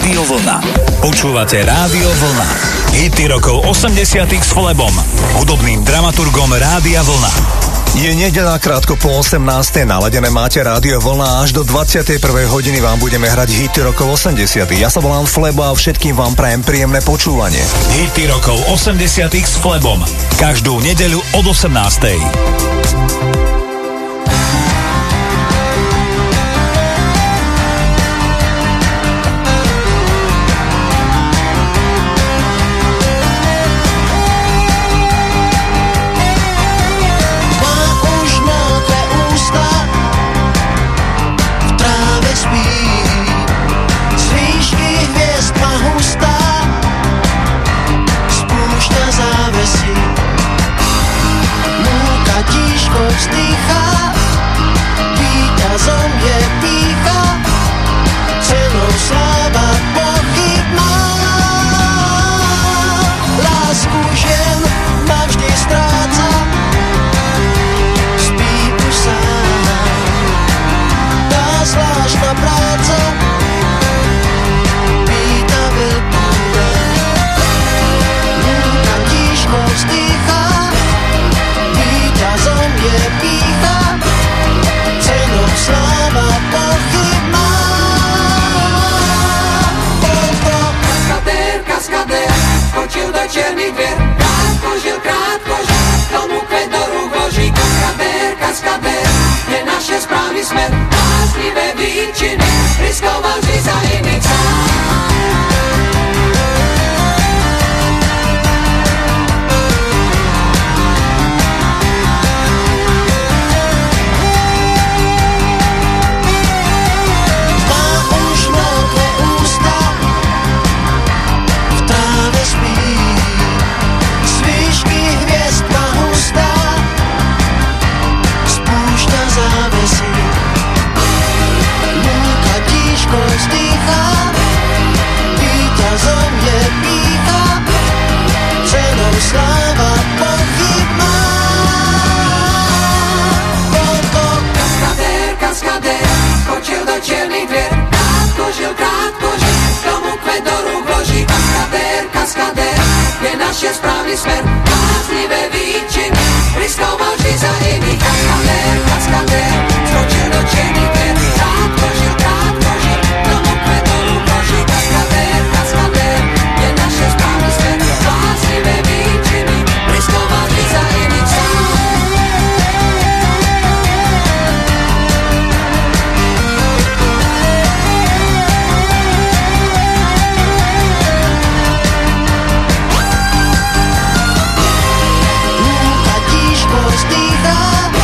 Rádio Vlna. Počúvate Rádio Vlna. Hity rokov 80-tých s Flebom, hudobným dramaturgom Rádia Vlna. Je nedeľa, krátko po 18. Naladené máte Rádio Vlna, až do 21. hodiny vám budeme hrať hity rokov 80. Ja sa volám Flebo a všetkým vám prajem príjemné počúvanie. Hity rokov 80-tých s Flebom. Každú nedeľu od 18. Vzdychá, víťazom je pýcha, cenou sláva pochybná. Lásku žien ma vždy stráca, spí už sám. Tá zvláštna práca pýta veľkúra. Lúka tížko vzdychá, víťazom je pýcha, cenou sláva pochybná. Kaskadér, skočil do černých dvier, krátko žil, tomu kvet do rúk vloží. Kaskadér, je naše správny smer, láslivé výčiny, riskoval vždy za iných sám. Vzdychá, víťazom je pýcha, cenou sláva pochybná. Kaskadér, skočil do čiernych dvier, krátko žil, tomu kvet do rúk vloží. Kaskadér, je naše správny smer, láslivé výčiny, riskoval vždy za iných. Kaskadér, skočil do čiernych dvier, krátko žil, tomu kvet do rúk vloží. Kaskadér, je naše správny smer, láslivé výčiny, riskoval vždy za iných sám. Vzdychá,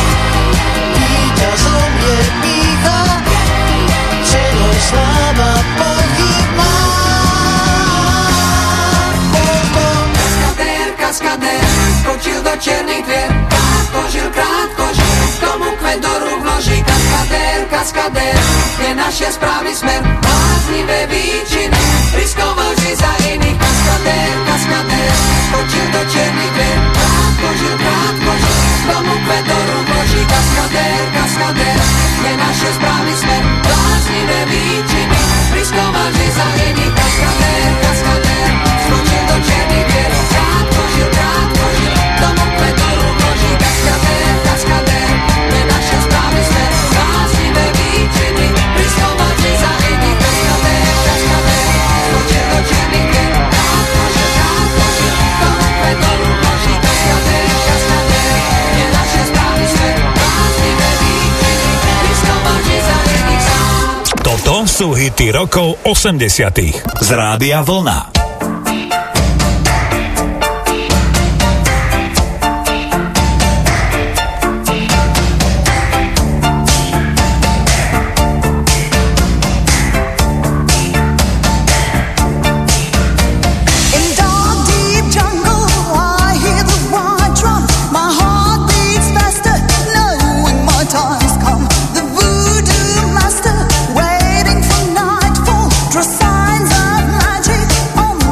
víťazom je pýcha, cenou sláva pochybná. Kaskadér, skočil do čiernych dvier, krátko žil, tomu kvet do rúk vloží. Kaskadér, je naše správny smer, láslivé výčiny, riskoval vždy za iných. Kaskadér, skočil do čiernych dvier, krátko žil, tomu kvet do rúk vloží. Kaskadér, je naše správny smer, láslivé výčiny, riskoval vždy za iných. Kaskadér, skočil do čiernych dvier, krátko žil, tomu kvet do rúk vloží. Kaskadér, je naše správny smer, láslivé výčiny, riskoval vždy za iných. Kaskadér, skočil do čiernych dvier, krátko žil, tomu kvet do rúk vloží. Kaskadér, je naše správny smer, láslivé výčiny, riskoval vždy za iných sám. Toto sú hity rokov 80-tých z Rádia Vlna. Signs of magic on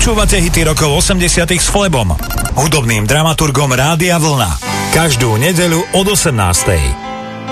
Počúvate hity rokov 80 s Flebom, hudobným dramaturgom Rádia Vlna. Každú nedeľu od 18.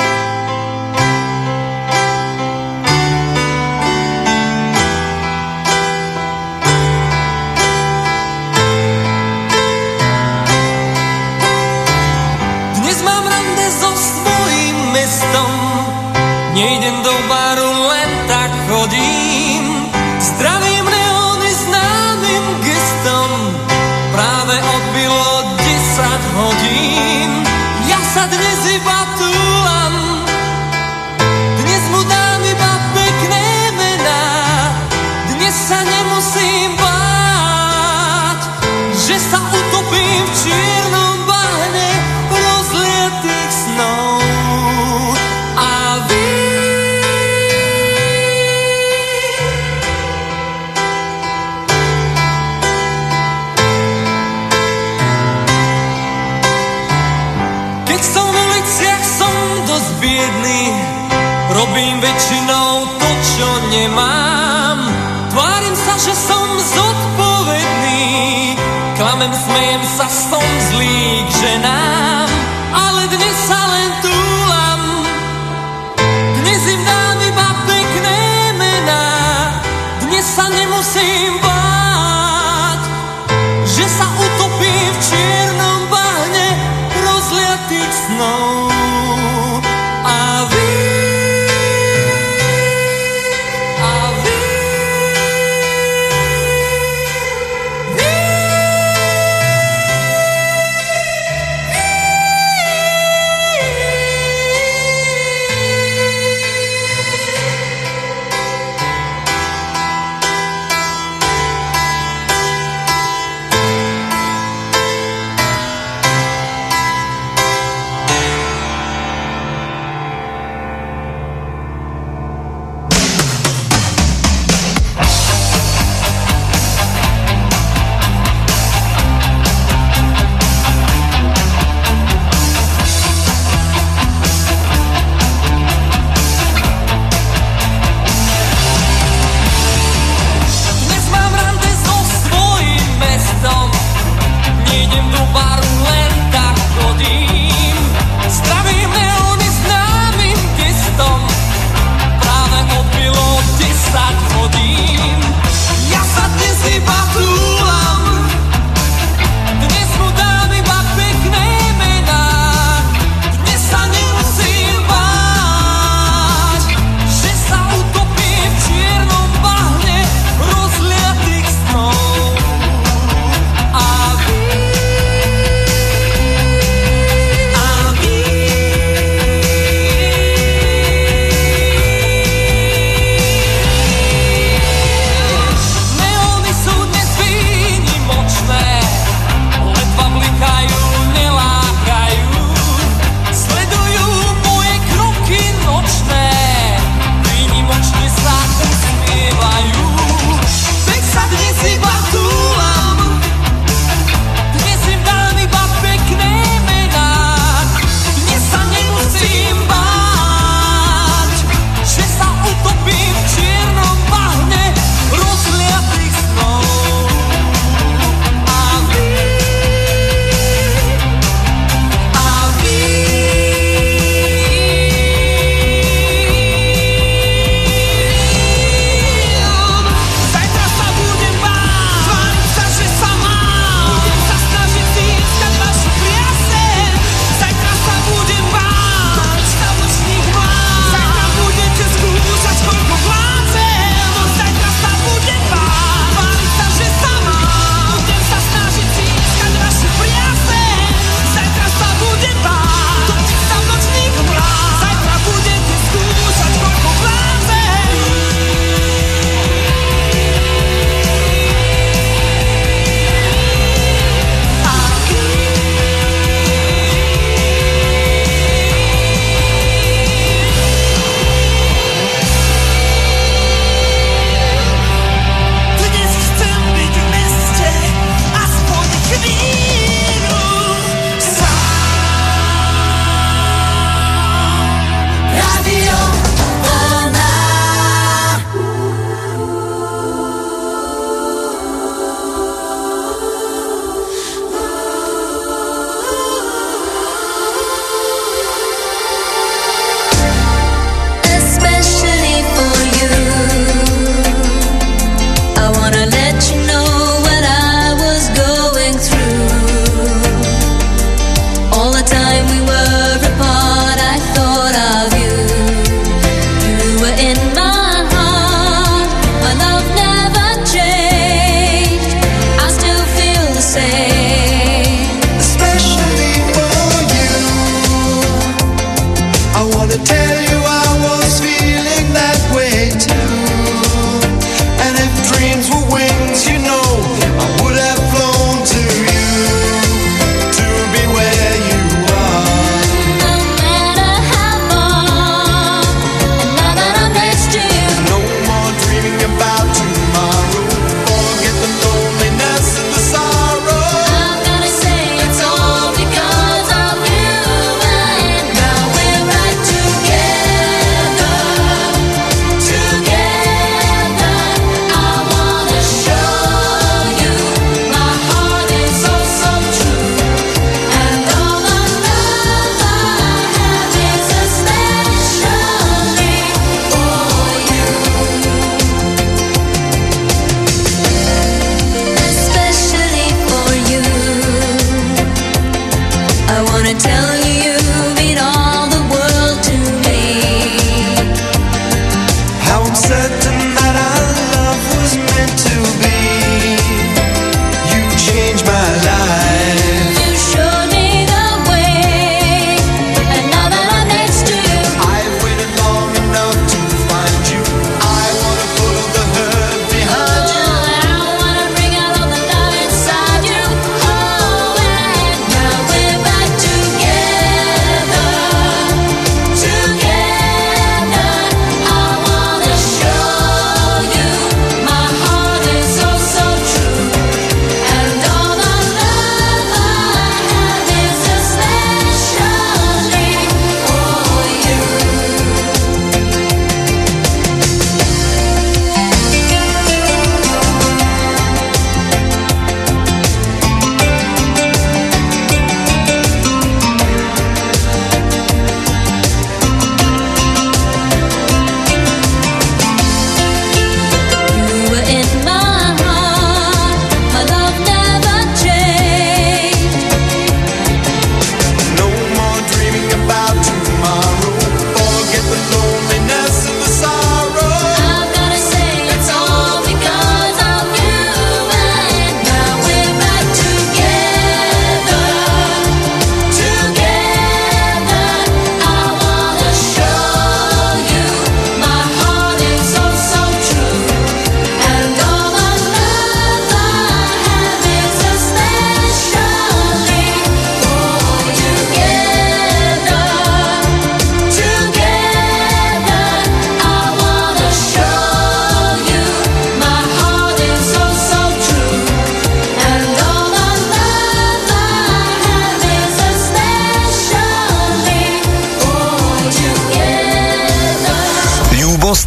Nejdem do baru, len tak chodím. Zdravím neóny známym gestom. Práve odbilo 10 hodín. Ja sa dnes iba túlam. Dnes mu dám iba pekné mená. Dnes sa nemusím báť, že sa utopím v čiernom bahne rozlietých snov. Robím väčšinou to, čo nemám. Tvárim sa, že som zodpovedný. Klamem, smejem sa, som zlý k ženám. Ale dnes sa len túlam. Dnes im dám iba pekné mená. Dnes sa nemusím báť, že sa utopím v čiernom bahne rozliatých snov.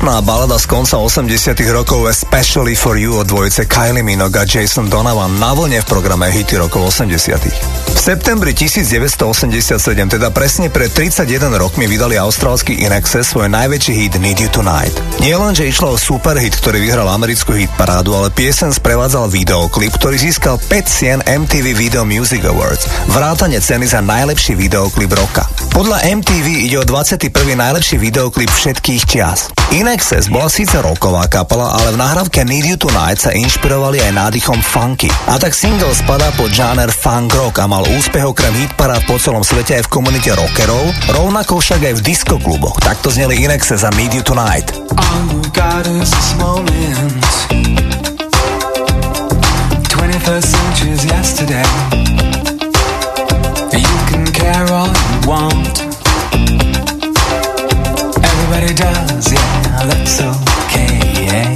smutná balada z konca 80 rokov Especially for You od dvojice Kylie Minogue a Jason Donovan na vlne v programe Hity rokov 80. V septembri 1987, teda presne pred 31 rokmi, vydali austrálsky INXS svoj najväčší hit Need You Tonight. Nie len, že išlo o superhit, ktorý vyhral americkú hitparádu, ale piesen sprevádzal videoklip, ktorý získal 5 cien MTV Video Music Awards, vrátane ceny za najlepší videoklip roka. Podľa MTV ide o 21. najlepší videoklip všetkých čias. INXS bola síce rocková kapela, ale v nahrávke Need You Tonight sa inšpirovali aj nádychom funky. A tak single spadá pod žáner funk rock a mal úspech okrem hitparád po celom svete aj v komunite rockerov, rovnako však aj v diskokluboch. Takto zneli INXS a Need You Tonight. All we've got is this moment. 21st century's yesterday. You can care all you want. Everybody does, yeah, that's okay, yeah.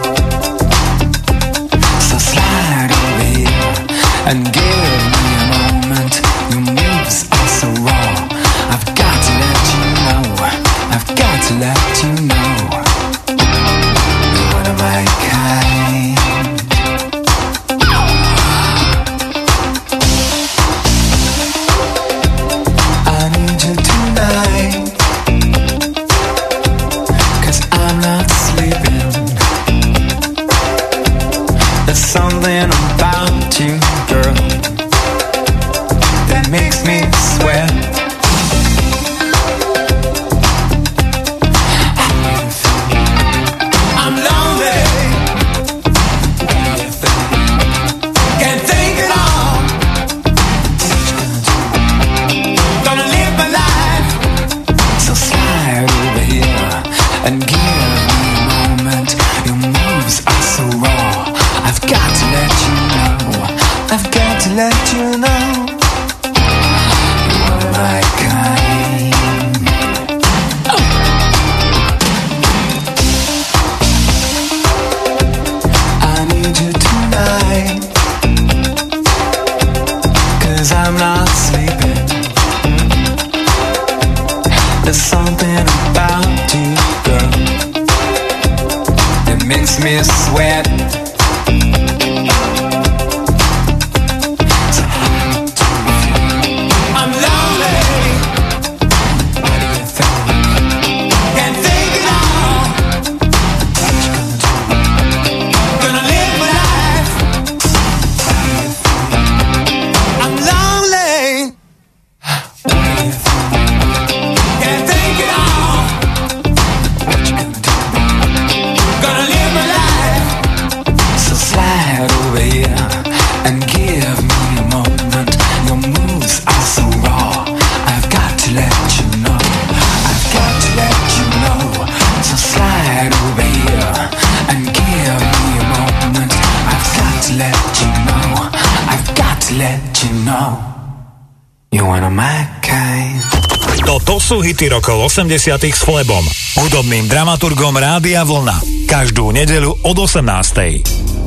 So slide over here and give me a moment. Your moves are so raw. I've got to let you know. I've got to let you know. You're one of my kind. I need you tonight. There's something about you, girl, that makes me sweat. I'm lonely. Can't think at all. Gonna live my life. So slide over here and give me a moment. Your moves are so raw. I've got to let you know. I've got to let you know. You're one of my kind. Oh. I need you tonight, 'cause I'm not sleeping. There's something about you, girl, that makes me sweat. To sú hity rokov 80 s Flebom, hudobným dramaturgom Rádia Vlna. Každú nedeľu od 18.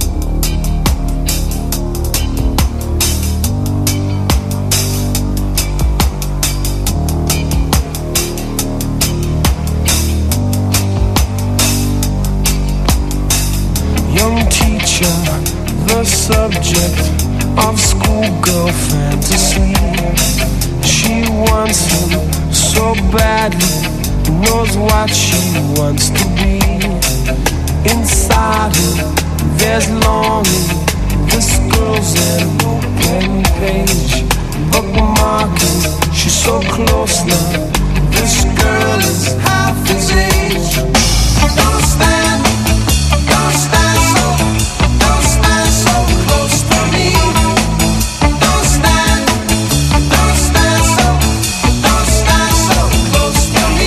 Young teacher, the subject of schoolgirl fantasy. She wants him so badly, knows what she wants to be. Inside her, there's longing. This girl's an open page, bookmarking. She's so close now. This girl is half his age. Don't stand so, don't stand so close to me. Don't stand so, don't stand so close to me.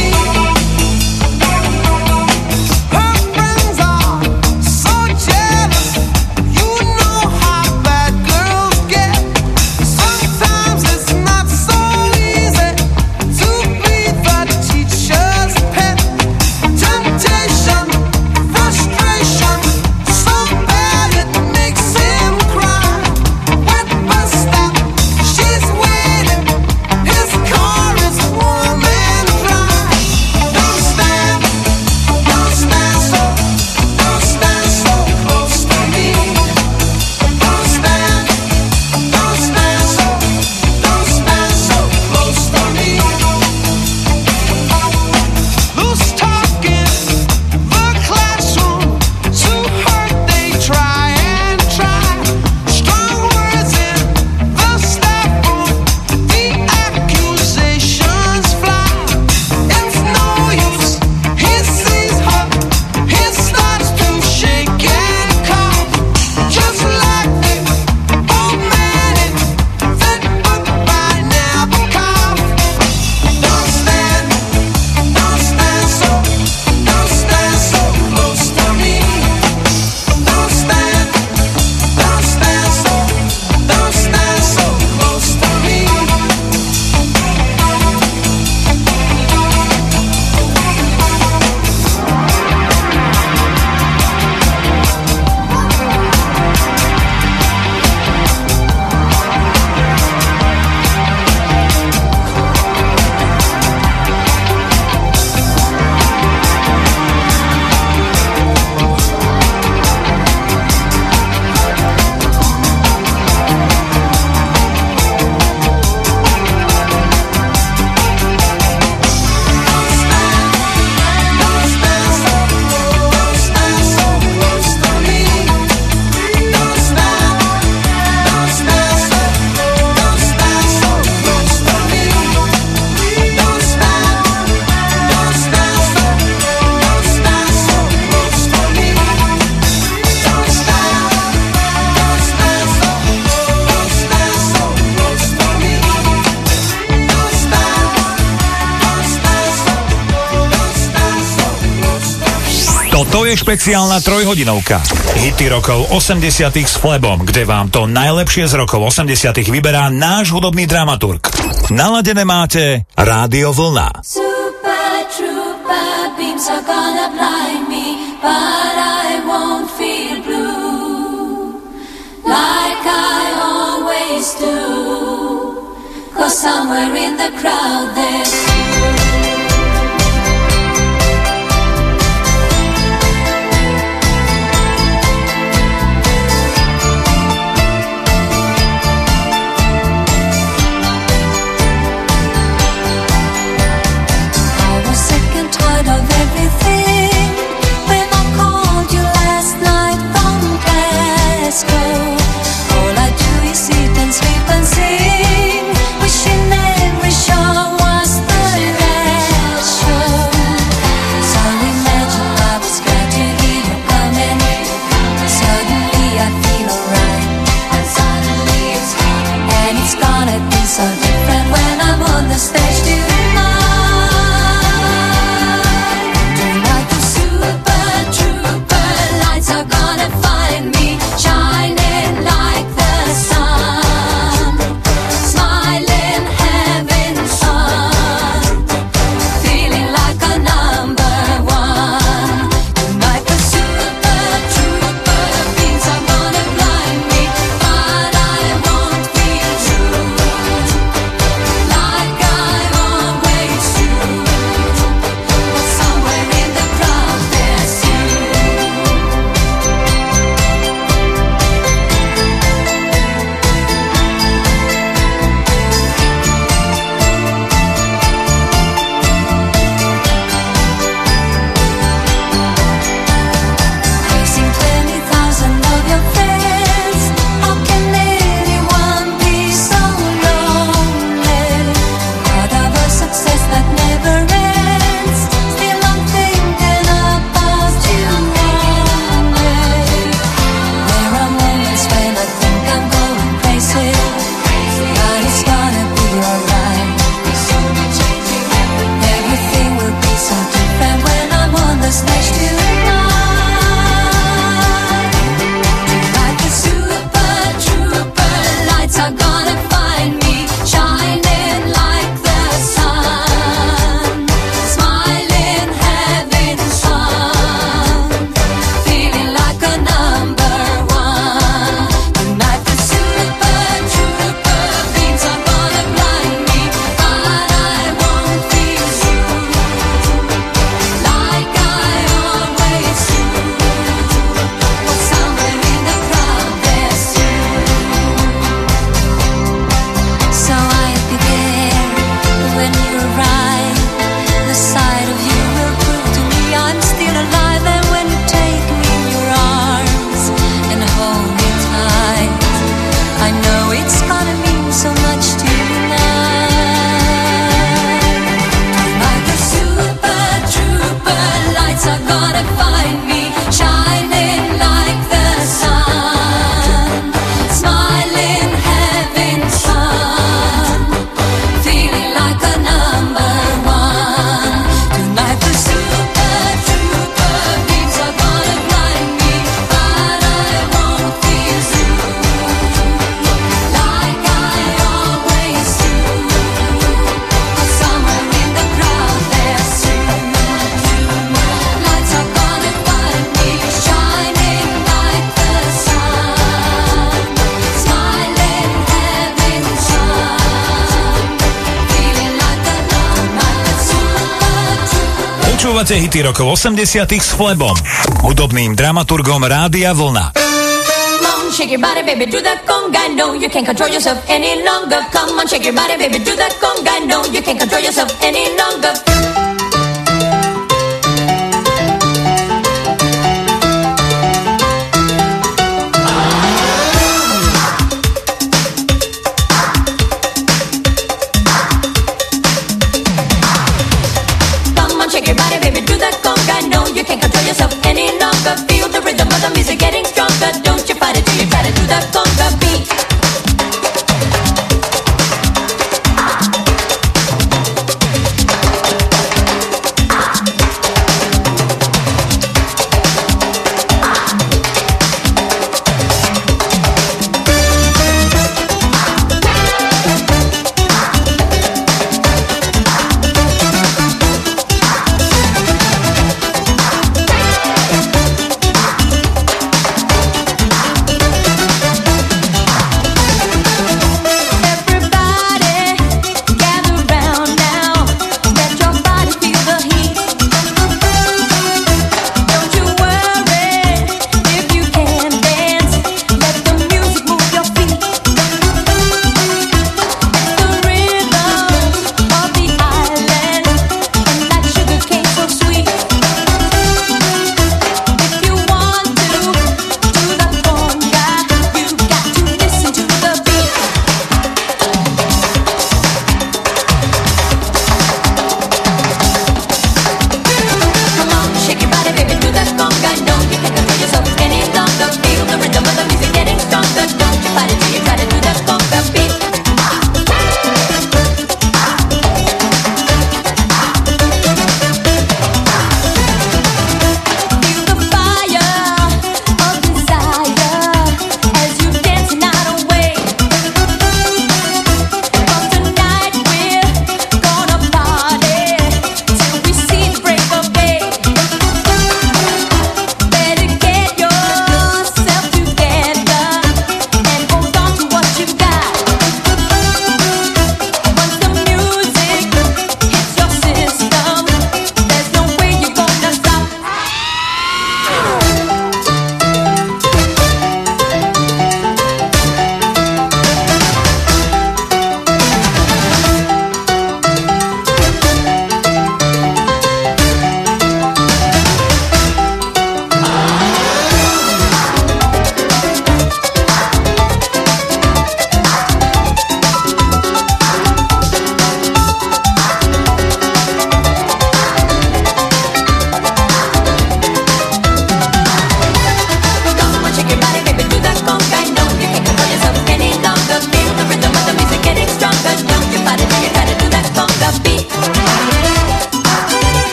Her friends are so jealous, you know how bad girls get. Sometimes it's not so easy to be the teacher's pet. Toto je špeciálna trojhodinovka. Hity rokov 80 s Flebom, kde vám to najlepšie z rokov 80 vyberá náš hudobný dramaturg. Naladené máte Rádio Vlna. Super trooper beams are gonna blind me, but I won't feel blue like I always do, 'cause somewhere in the crowd there's you. All I do is eat and sleep and sing, wishing every show was the last show. So imagine I was glad to hear you coming. Suddenly I feel alright, and suddenly it's gone. And it's gonna be so different when I'm on the stage tonight. Tonight the super trooper lights are gonna find me, shining like the sun, smiling, having fun, feeling like a number one. Tonight the super trooper beams are gonna blind me, but I won't feel true like I always do. But somewhere in the crowd there's you. Facing 20,000 of your friends, how can anyone be so lonely? Part of a success that never ends, still I'm thinking about you only. There are moments when I think I'm going crazy, but it's gonna be alright. Everything will be so different when I'm on the stage tonight. Tonight the super trooper lights are gonna find me, shining like the sun, smiling, having fun, feeling like a number one. Tonight the super trooper beams are gonna blind me, but I won't feel true like I always do. But somewhere in the crowd there's you. So I'll be there when you arrive. The sight of you will prove to me I'm still alive. And when you take me in your arms and hold me tight, I know it's gonna mean so much tonight. Tonight the super trooper lights are gonna find me, shining like the sun, smiling, having fun, feeling like a number one. Tonight the super trooper beams are gonna blind me, but I won't feel true like I always do. But somewhere in the crowd there's you. Lights are gonna find me, shining like the sun, smiling, having fun, feeling like a number one. Počúvate hity rokov 80 s Flebom, hudobným dramaturgom Rádia Vlna. Come on, shake your body, baby, do that conga. No, you can't control yourself any longer. Come on, shake your body, baby, do that conga. No, you can't control yourself any longer. Come on, shake your body, baby, do that conga. No, you can't control yourself any longer. Feel the rhythm of the music getting stronger. Don't you fight it till you try to do that conga beat.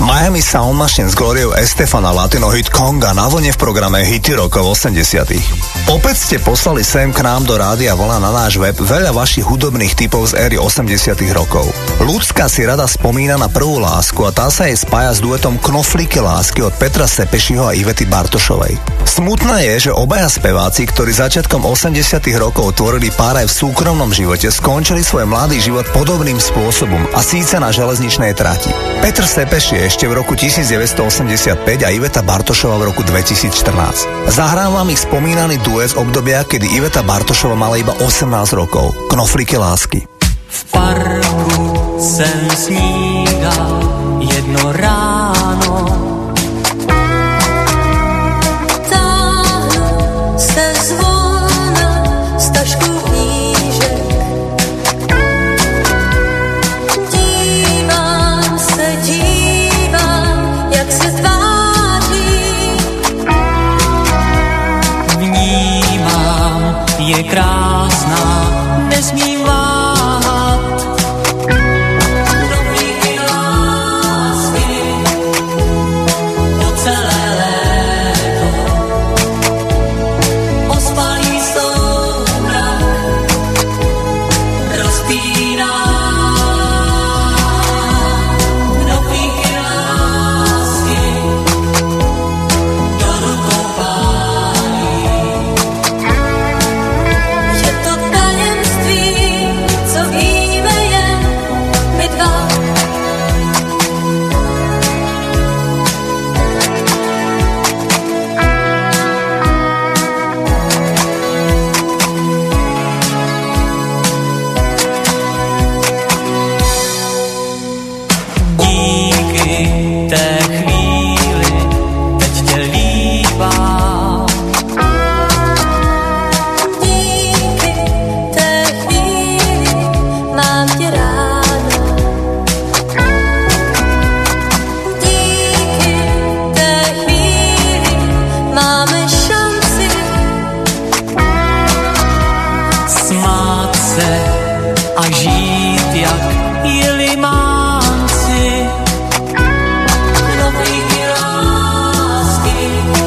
Miami Sound Machine s Gloriou Estefana, latino hit Conga na vlne v programe Hity rokov 80. Opäť ste poslali sem k nám do Rádia Vlna na náš web veľa vašich hudobných typov z éry 80 rokov. Ľudská si rada spomína na prvú lásku a tá sa jej spája s duetom Knoflíky lásky od Petra Sepešiho a Ivety Bartošovej. Smutné je, že obaja speváci, ktorí začiatkom 80 rokov tvorili pár aj v súkromnom živote, skončili svoj mladý život podobným spôsobom a síce na železničnej trati. Petr Sepeši ešte v roku 1985 a Iveta Bartošova v roku 2014. Zahrám vám ich spomínaný duet z obdobia, kedy Iveta Bartošova mala iba 18 rokov. Knoflíky lásky. V parku jsem snídal jedno ráno. Táhnu se zvolna z tašku knížek. Dívám, jak se tváří. Vnímám, je krásná, nesmím váhat. Knoflíky lásky po celé léto ospalý soumrak rozpíná. Knoflíky lásky do rukou pálí. Je to tajemství, co víme jen my dva. Díky té chvíli teď tě líbám. Díky té chvíli mám tě ráda. Díky té chvíli máme šanci Smát se a žít jak jelimánci. Knoflíky lásky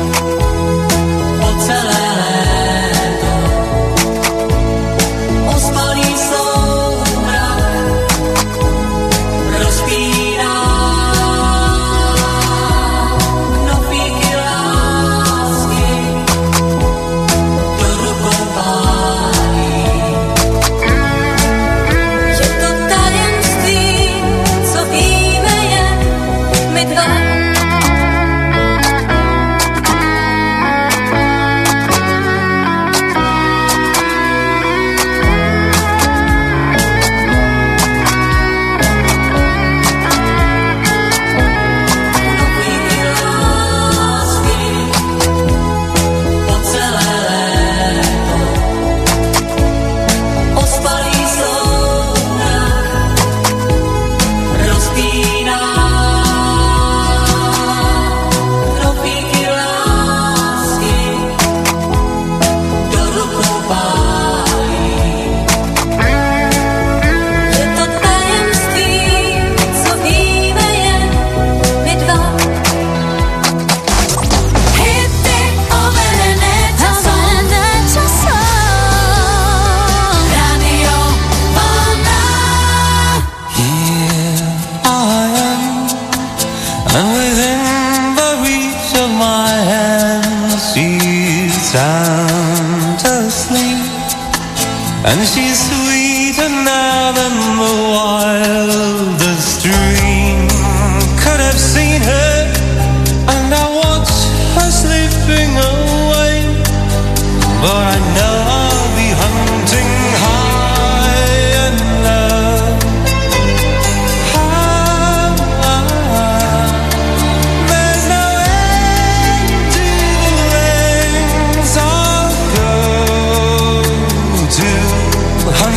po celé léto ospalý soumrak rozpíná. Knoflíky lásky do rukou pálí. Je to tajemství, co víme jen my dva. Knoflíky lásky po celé léto ospalý soumrak rozpíná. Knoflíky lásky do rukou pálí. Je to tajemství, co víme jen my dva. Hity overené časom. Radio Vlna. Here I am, and within the reach of my hand, she's sound asleep, and she's sweeter now than the wildest dream could have seen her. And I watch her slipping away, but I know I'll be hunting high and low. There's no end to the lengths I'll go to hunt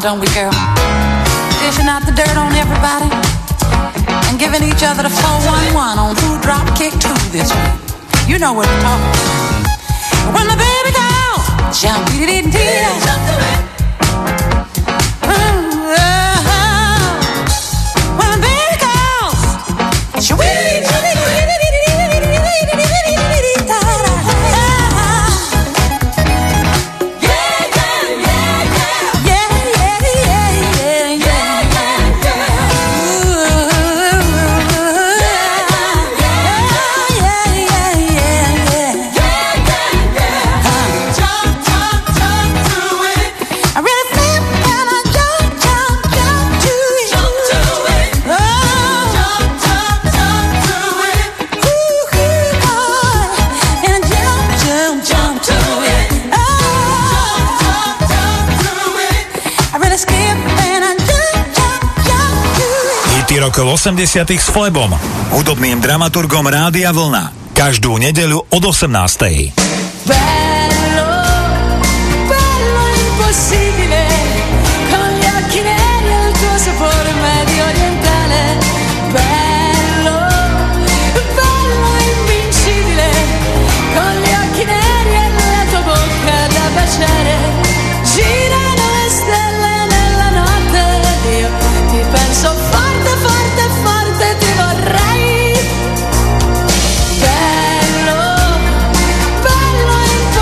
don't we, girl? Dishing out the dirt on everybody and giving each other the 411 on who dropped kick to this week. You know what we're talking about. When the baby calls, jump, jump to it. When the baby calls, she rokov 80 s Flebom, hudobným dramaturgom Rádia Vlna. Každú nedeľu od 18. Bello, bello impossibile, con gli occhi neri e il tuo sapore medio orientale. Bello, bello invincibile, con gli occhi neri e la tua bocca da baciare. Girano le stelle nella notte, io ti penso forte, forte, forte, ti vorrei. Bello, bello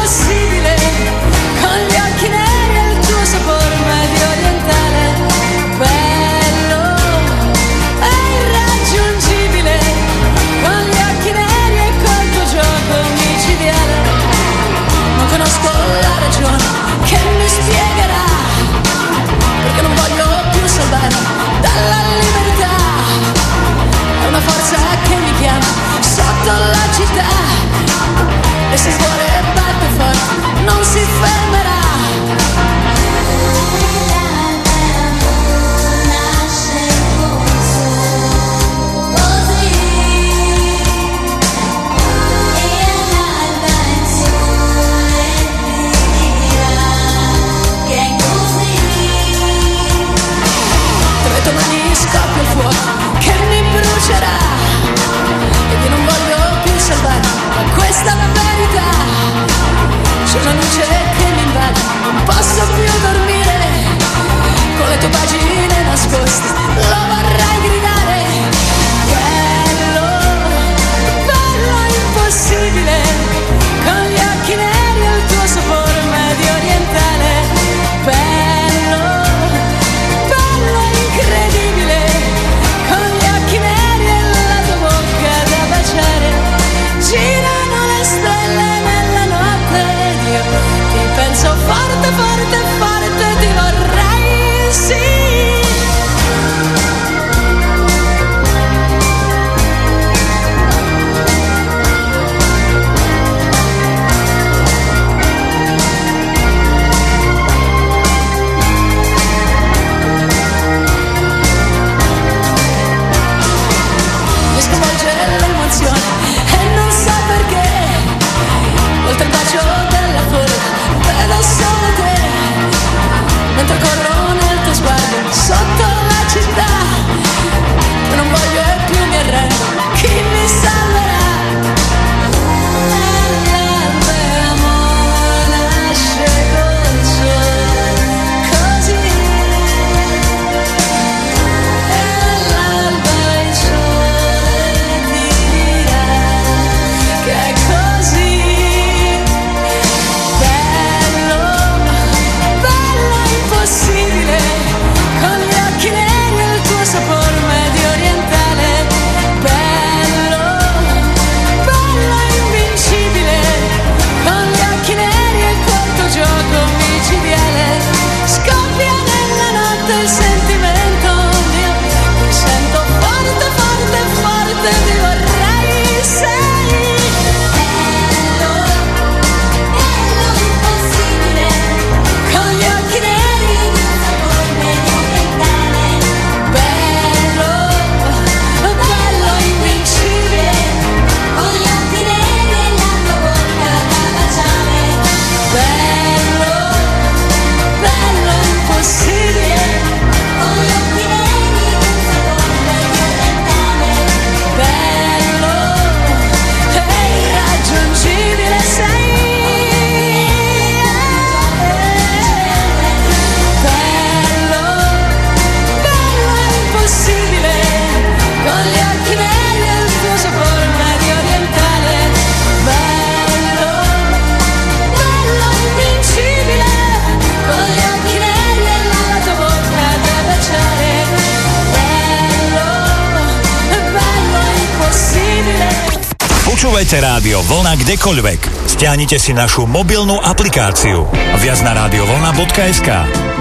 Počúvajte Rádio Vlna kdekoľvek. Stiahnite si našu mobilnú aplikáciu. Viac na radiovlna.sk.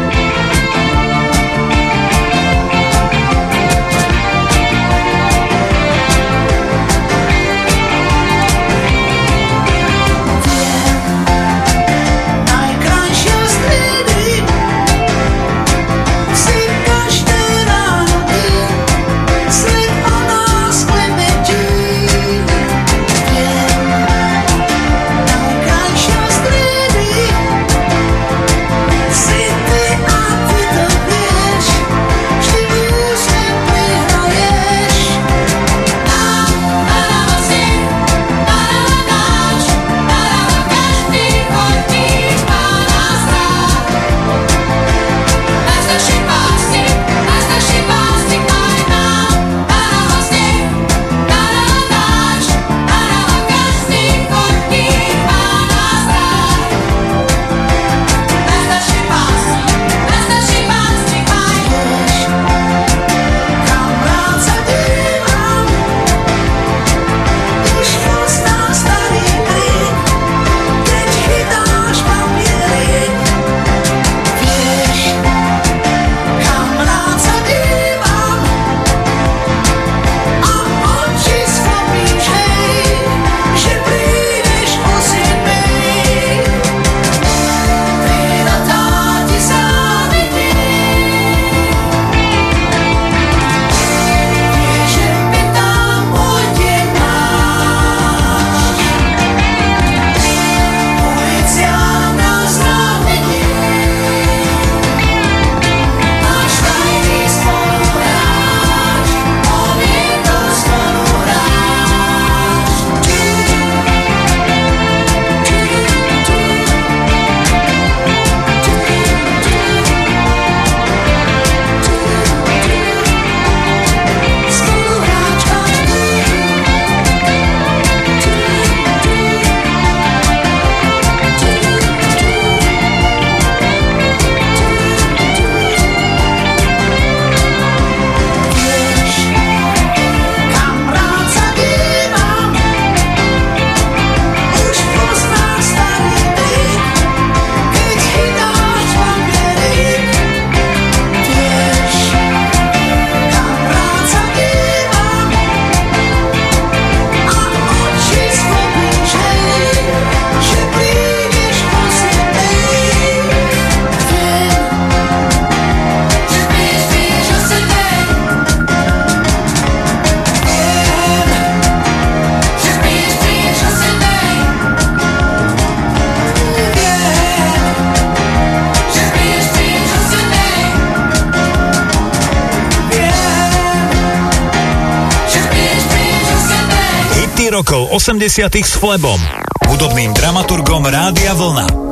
Rokov 80 s Flebom, hudobným dramaturgom Rádia Vlna.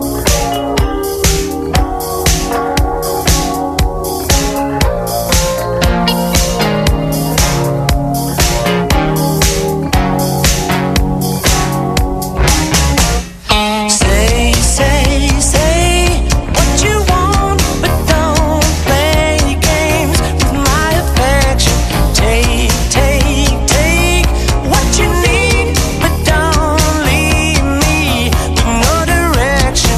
Direction.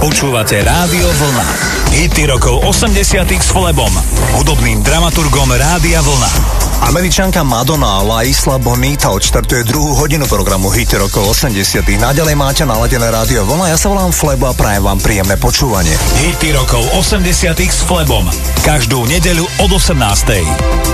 Počúvate Rádio Vlna. Hity rokov 80 s Flebom, hudobným dramaturgom Rádia Vlna. Američanka Madonna La Isla Bonita odštartuje druhú hodinu programu Hity rokov 80. Naďalej máte naladené Rádio Vlna, ja sa volám Flebo a prajem vám príjemné počúvanie. Hity rokov 80 s Flebom. Každú nedeľu od 18.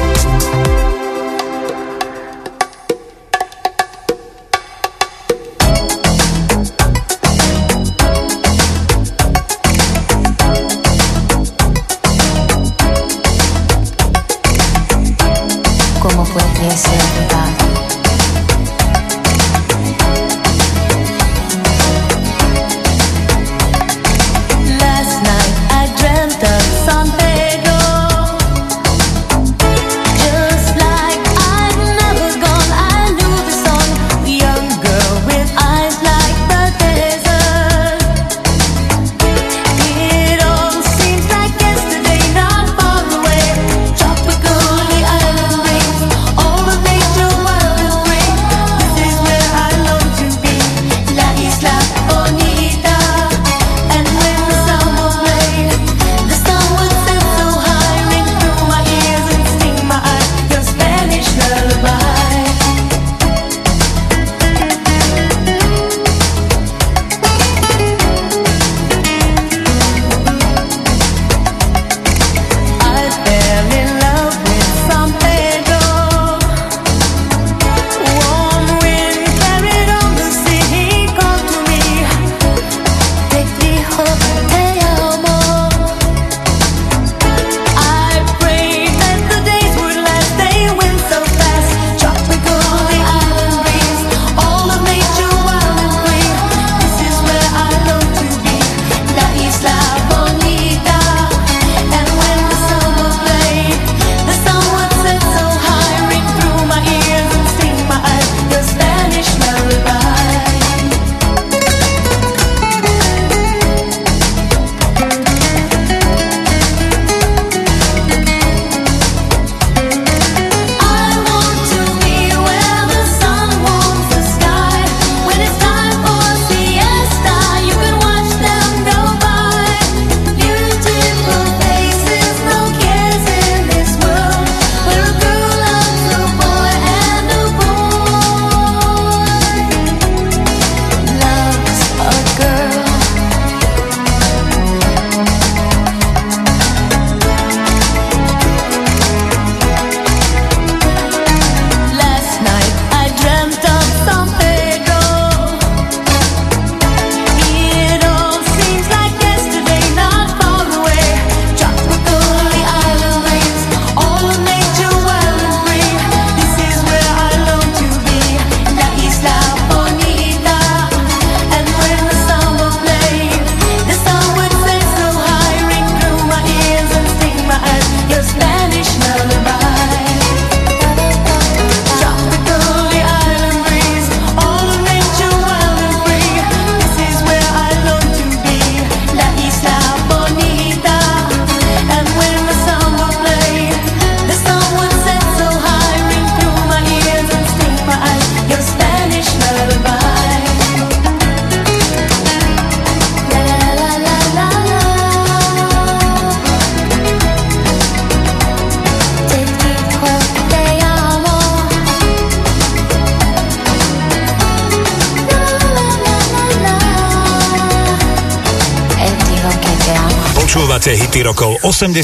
Počúvate hity rokov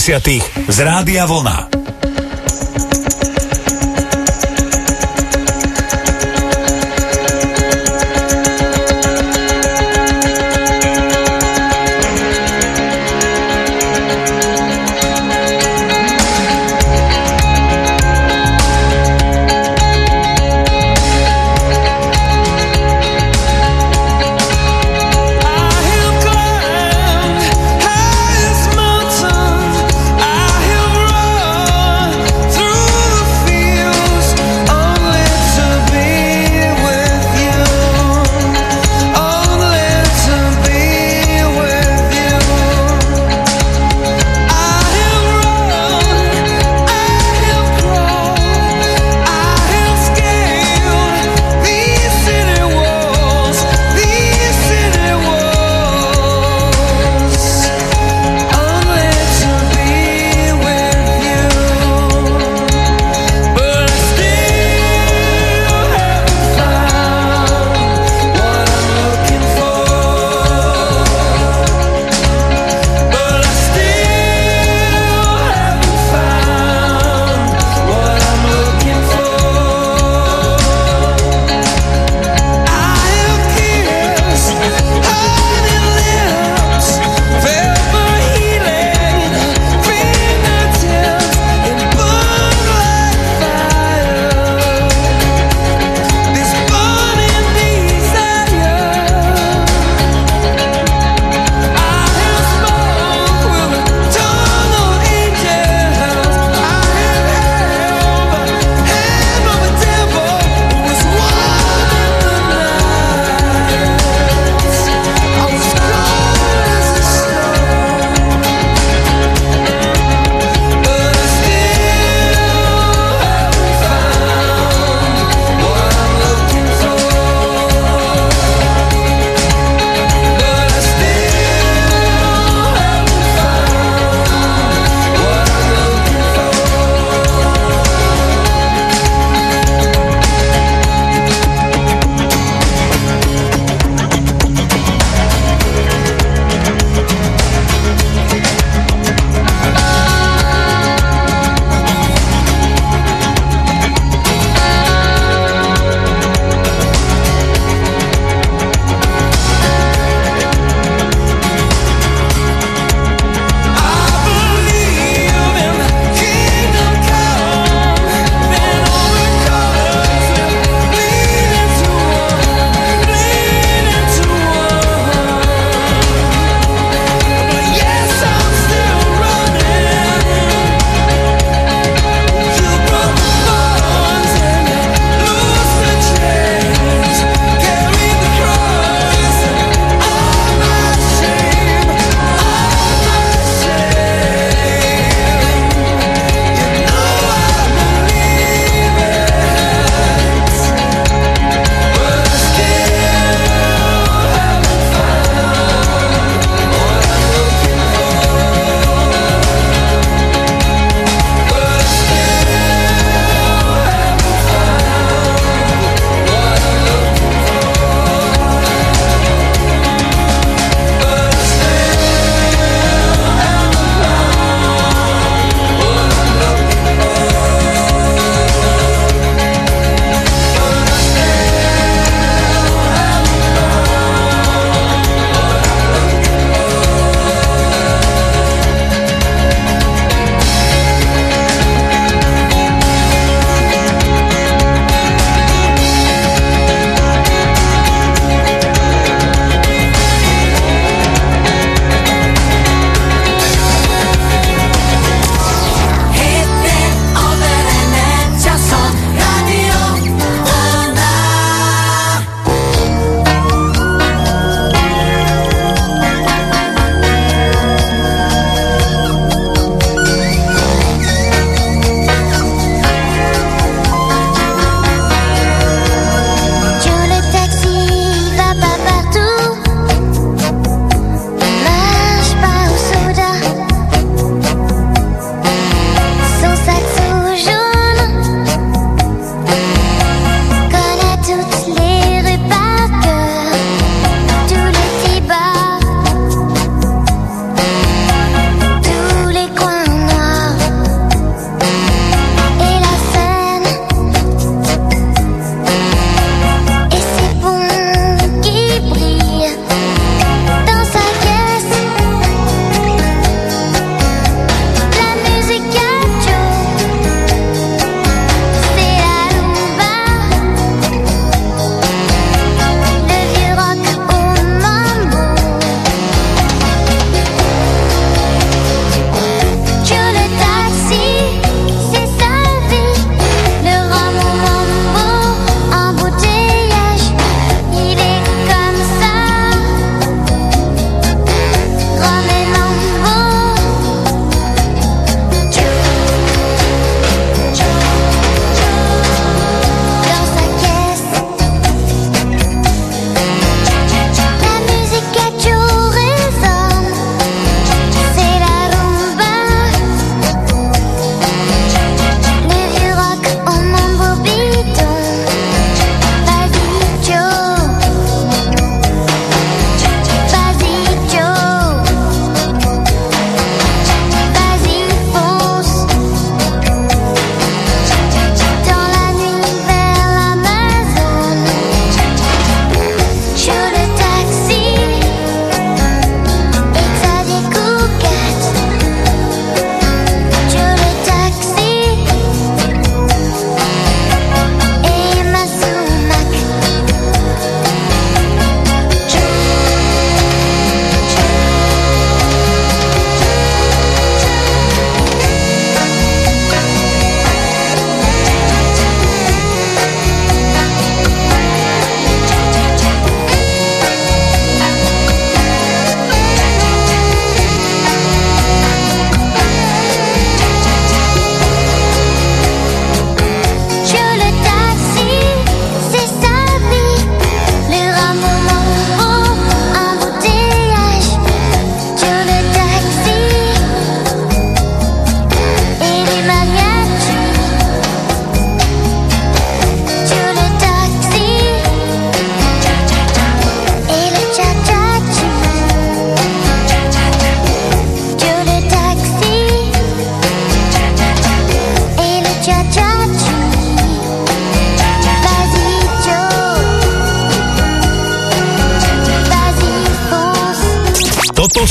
80 z Rádia Vlna. I have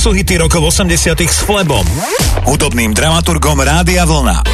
sú hity rokov 80 s Flebom, hudobným dramaturgom Rádia Vlna.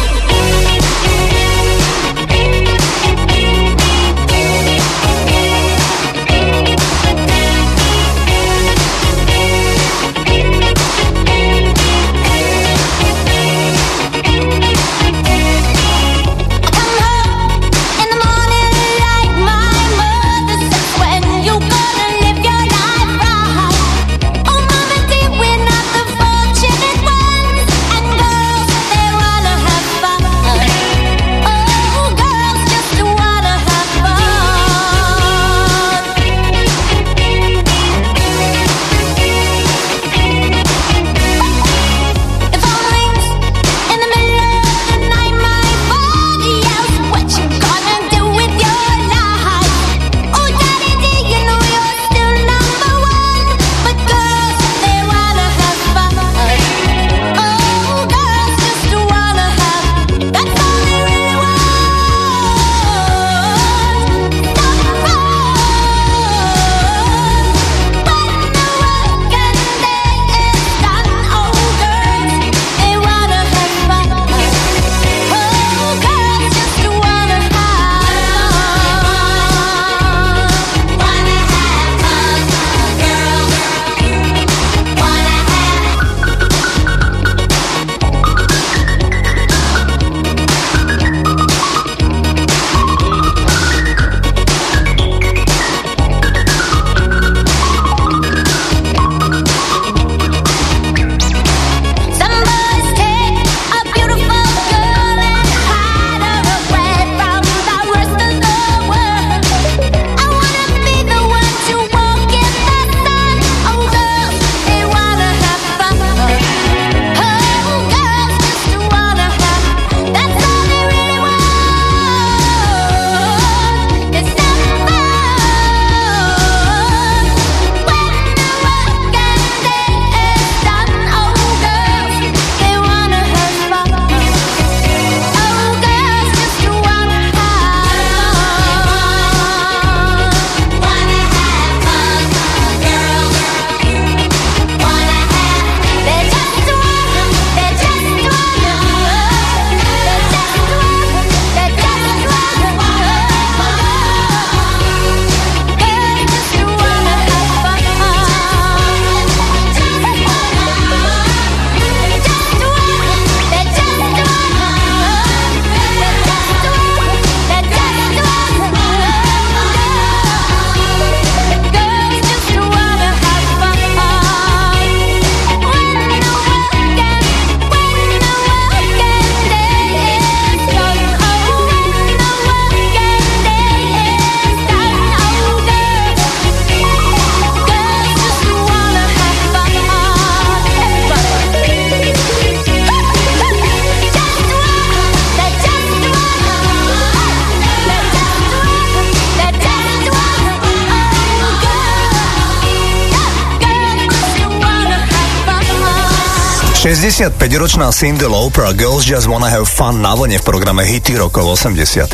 ...65-ročná Cyndi Lauper a Girls Just Wanna Have Fun na vlne v programe Hity rokov 80.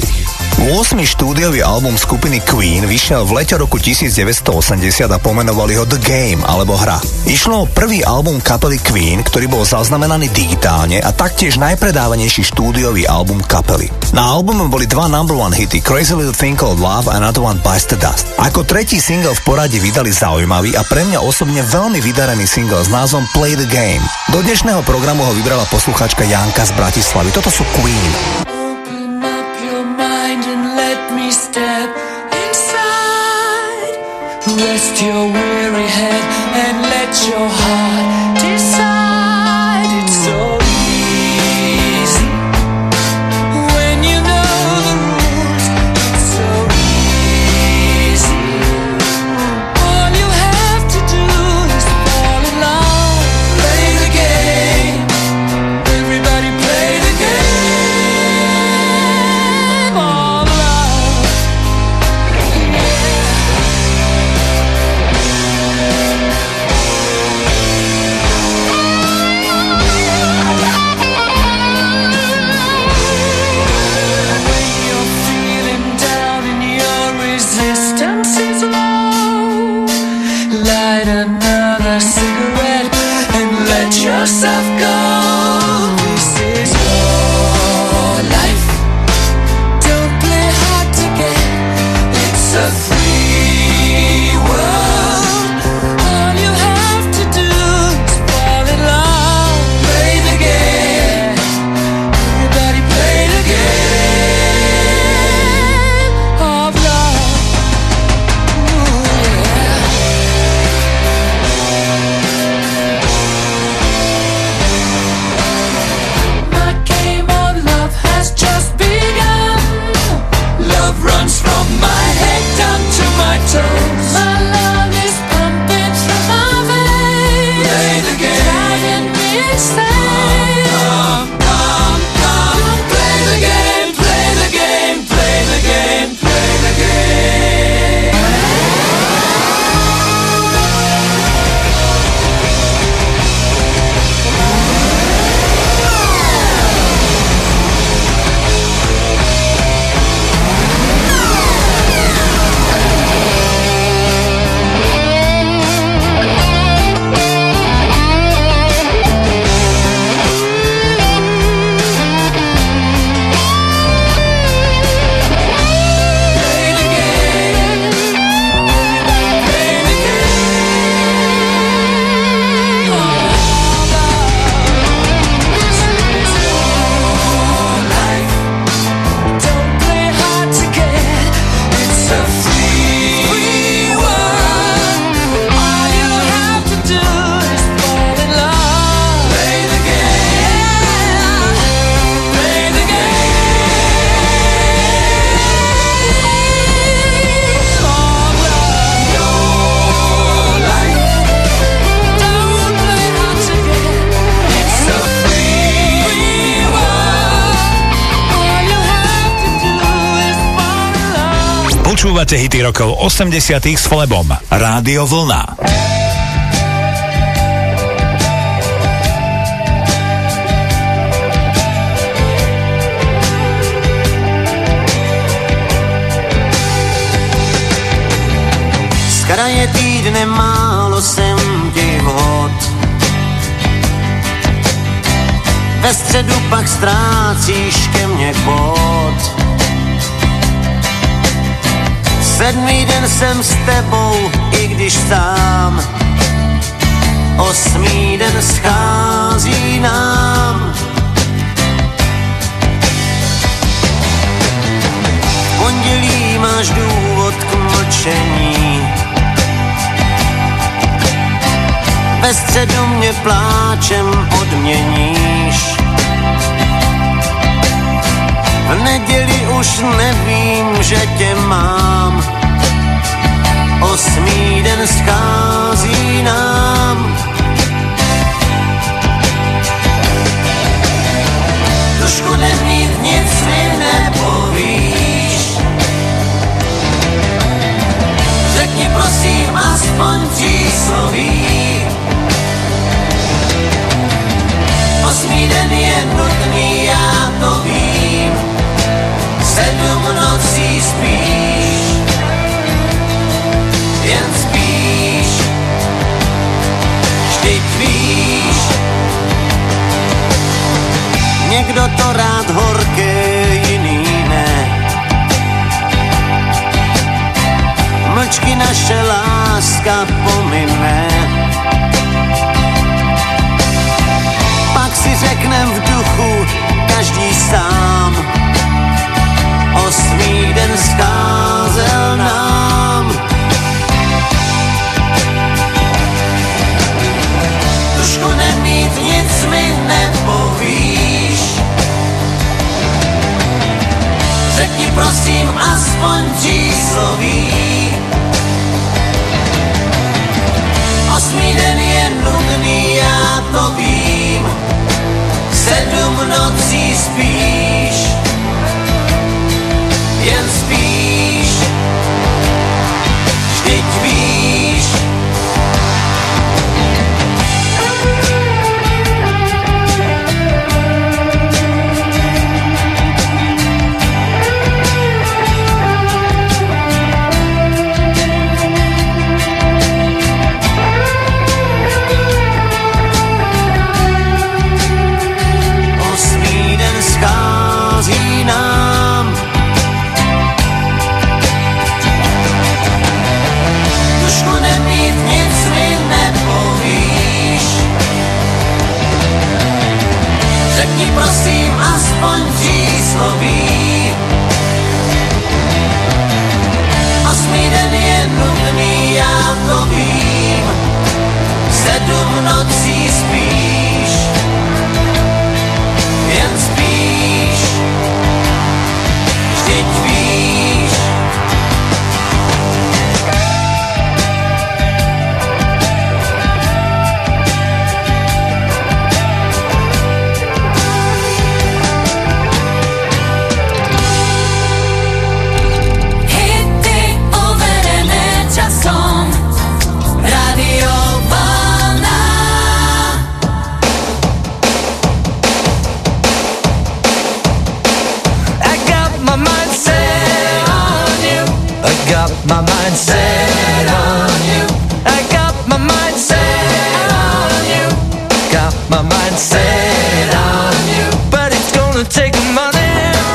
8. štúdiový album skupiny Queen vyšiel v lete roku 1980 a pomenovali ho The Game, alebo Hra. Išlo o prvý album kapely Queen, ktorý bol zaznamenaný digitálne a taktiež najpredávanejší štúdiový album kapely. Na albume boli dva number one hity Crazy Little Thing Called Love a Another One Bites the Dust. Ako tretí single v poradí vydali zaujímavý a pre mňa osobne veľmi vydarený single s názvom Play the Game. Do dnešného programu ho vybrala poslucháčka Janka z Bratislavy. Toto sú Queen. Open up your mind and let me step inside. Rest your weary head and let your heart decide. It's so easy when you know the rules. It's so easy. All you have to do is fall in love. Play the game. Everybody play the game of love. of gold. This is your life. Don't play hard to get. It's a free world. All you have to do is fall in love. Play the game. Everybody play the game of love. Ooh, yeah. My game of love has just begun. Love runs from my head down to my toes. My love is pumping through my veins. Play the game. Driving me insane. Come. Play the game, play the game, play the game, play the game. Don't play hard to get. It's a free world. All you have to do is fall in love. Play the game. Play the game of love. Your life. Don't play hard to get. It's a free world. All you have to do is fall in love. Počúvate hity rokov 80 s Flebom. Rádio Vlna. Z kraje týdne málo jsem ti vhod. Ve středu pak ztrácíš ke mně bod. 7. den jsem s tebou, i když sám. 8. den schází nám. V pondělí máš důvod k mlčení. Ve středu mě pláčem odměníš. V neděli už nevím, že tě mám. 8. den schází nám. Trošku nemít, nic mi nepovíš. Řekni prosím aspoň čísloví. 8. den je nutný, já to vím. 7 nocí spíš, jen spíš. Vždyť víš, někdo to rád horké, jiný ne. Mlčky naše láska pomine. Pak si řeknem v duchu každý sám. 8. den scházel nám. Trošku nemít, nic mi nepovíš. Řekni prosím aspoň čísloví. 8. den je nudný, já to vím. 7 nocí spíš, jen spíš. Vždyť víš. řekni prosím aspoň přísloví. 8. den je nudný, já to vím, 7 nocí spíš, jen spíš, vždyť víš. Hity overené časom, Radio Vlna. I got my mind set on you. I got my mind set on you. I got my mind set on you. Got my mind set on you. But it's gonna take money,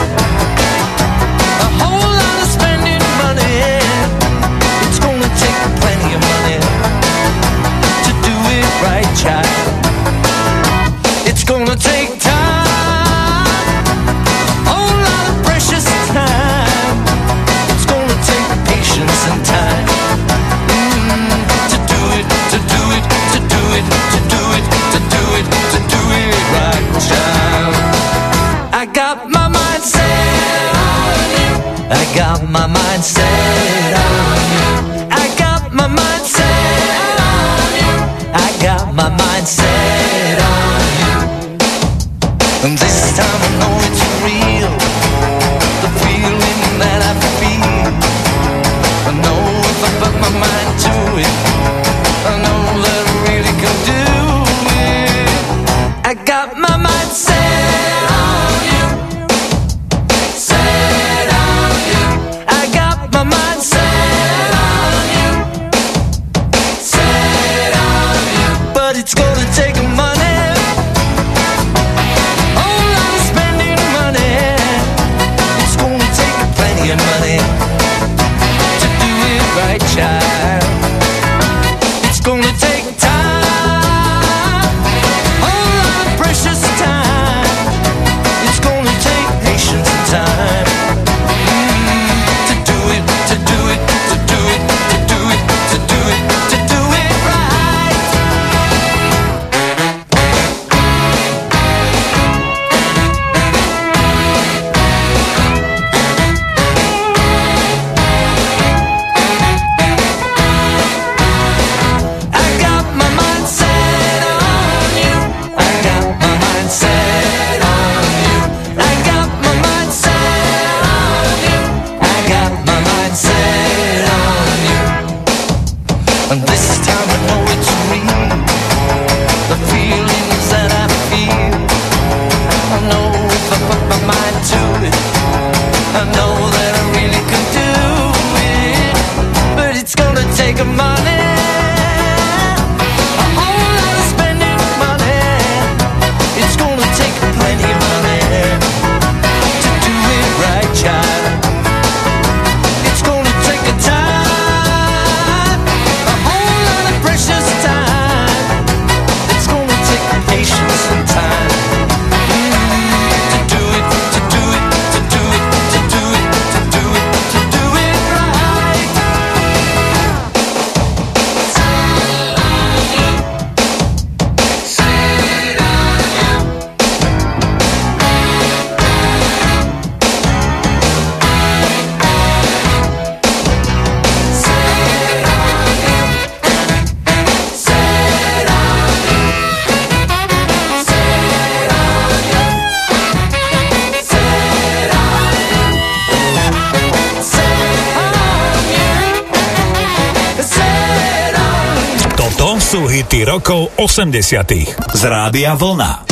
a whole lot of spending money. It's gonna take plenty of money to do it right, child. It's gonna take time, whole lot of precious time. It's gonna take patience and time to do it, to do it, to do it, to do it, to do it, to do it right, child. I got my mind set on you. I got my mind set on you. I got my mind set on you. I got my mind set on you. And this time I know it's real, the feeling that I feel. I know if I put my mind to it, I know that I really can do it. I got my mind set on you, set on you. I got my mind set on you, set on you. But it's gonna take money, whole lot of spending money. It's gonna take plenty of money to do it right, child. It's gonna take time, whole lot of precious time. It's gonna take patience and time to do it, to do it, to do it, to do it, to do it, to do it right. I got my mind set on you. I got my mind set on you. I got my mind set on you. I got my mind set on you. And this time I know it's real, the feelings that I feel. I know if I put my mind to it, I know that I really can do it. But it's gonna take money, a whole lot of spending money. It's gonna take plenty of money to do it right, child. It's gonna take a time, a whole lot of precious time. It's gonna take patience and time to do it, to do it, to do it, to do it, to do it, to do it right. Toto sú hity rokov 80. z Rádia Vlna.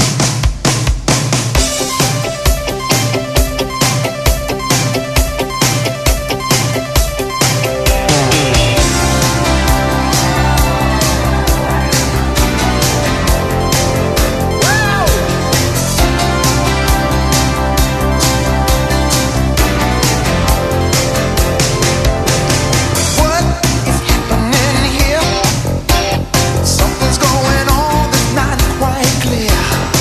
Something's going on that's not quite clear.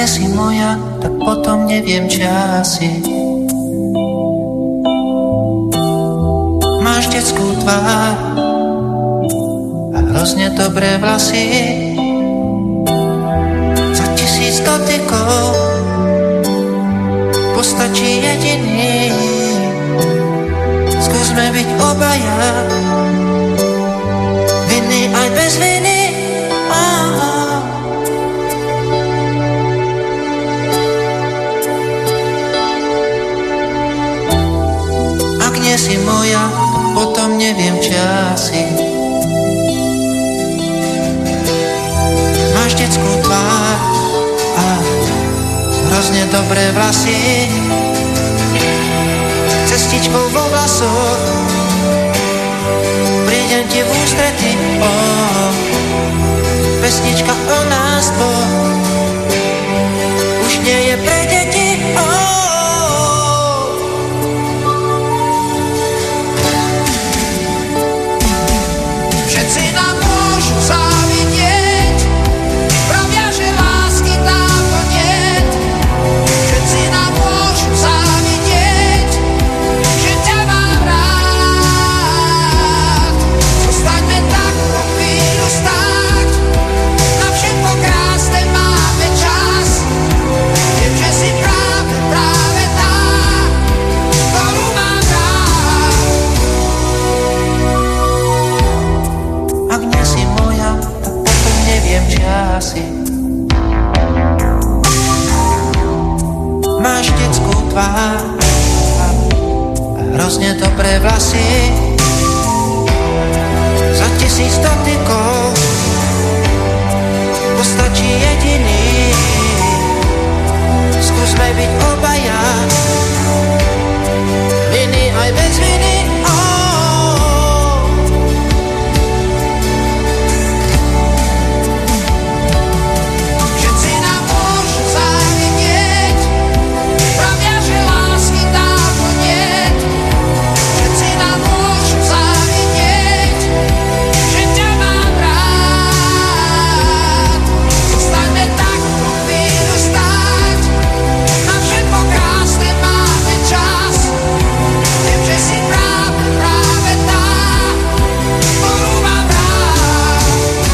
nie si moja, tak potom neviem, čo si. Máš detskú tvár a hrozne dobré vlasy. Za 1000 dotykov postačí jediný. Skúsme byť obaja, vinný aj bez viny. Ak nie si moja, potom neviem, čo si. Máš detskú tvár a hrozne dobré vlasy. Cestičkou vo vlasoch prídem ti v ústrety. Pesnička o nás dvoch už nie je pre deti. Všetci nám môžu závidieť, pravia, že lásky dávno niet. Všetci nám môžu závidieť, že ťa mám rád. Zostaňme tak po chvíľu stáť, na všetko krásne máme čas. Viem, že si práve tá, ktorú mám rád. Ak nie si moja, tak potom neviem, čo si. Máš detskú tvár a hrozne dobré vlasy. Za 1000 dotykov postačí jediný. Skúsme byť obaja, viny aj bez viny. Všetci nám môžu závidieť, pravia, že lásky dávno niet. Všetci nám môžu závidieť, že ťa mám rád. Zostaňme tak po chvíľu stáť, na všetko krásne máme čas. Viem, že si práve tá, ktorú mám rád.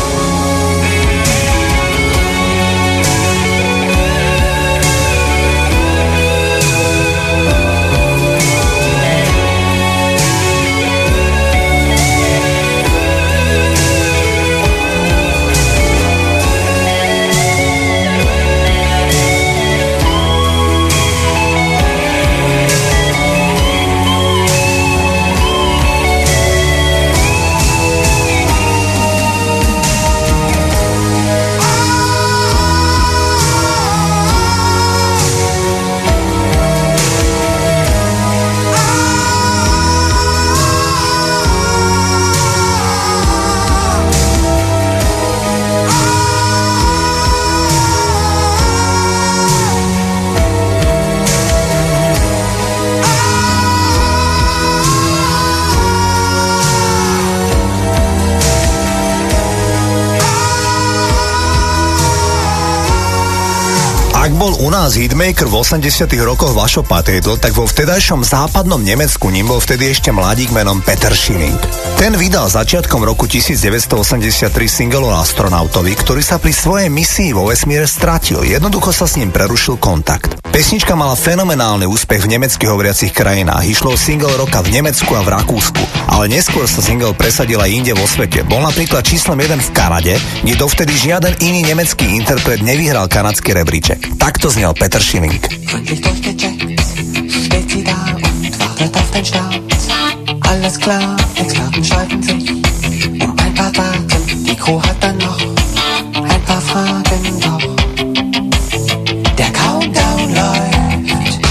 Ak bol u nás hitmaker v 80 rokoch Vašo Patétl, tak vo vtedajšom západnom Nemecku ním bol vtedy ešte mladík menom Peter Schilling. Ten vydal začiatkom roku 1983 single o astronautovi, ktorý sa pri svojej misii vo vesmíre stratil. Jednoducho sa s ním prerušil kontakt. Pesnička mala fenomenálny úspech v nemecky hovoriacich krajinách. Išlo o single roka v Nemecku a v Rakúsku, ale neskôr sa single presadil aj inde vo svete. Bol napríklad číslom 1 v Kanade, kde dovtedy žiaden iný nemecký interpret nevyhral kanadský rebríček. Takto znel Peter Schilling. Gründlich durchgecheckt, steht sie da und wartet auf den Start. Alles klar, Experten streiten sich um ein paar Daten. Die Crew hat dann noch ein paar Fragen, doch der Countdown läuft.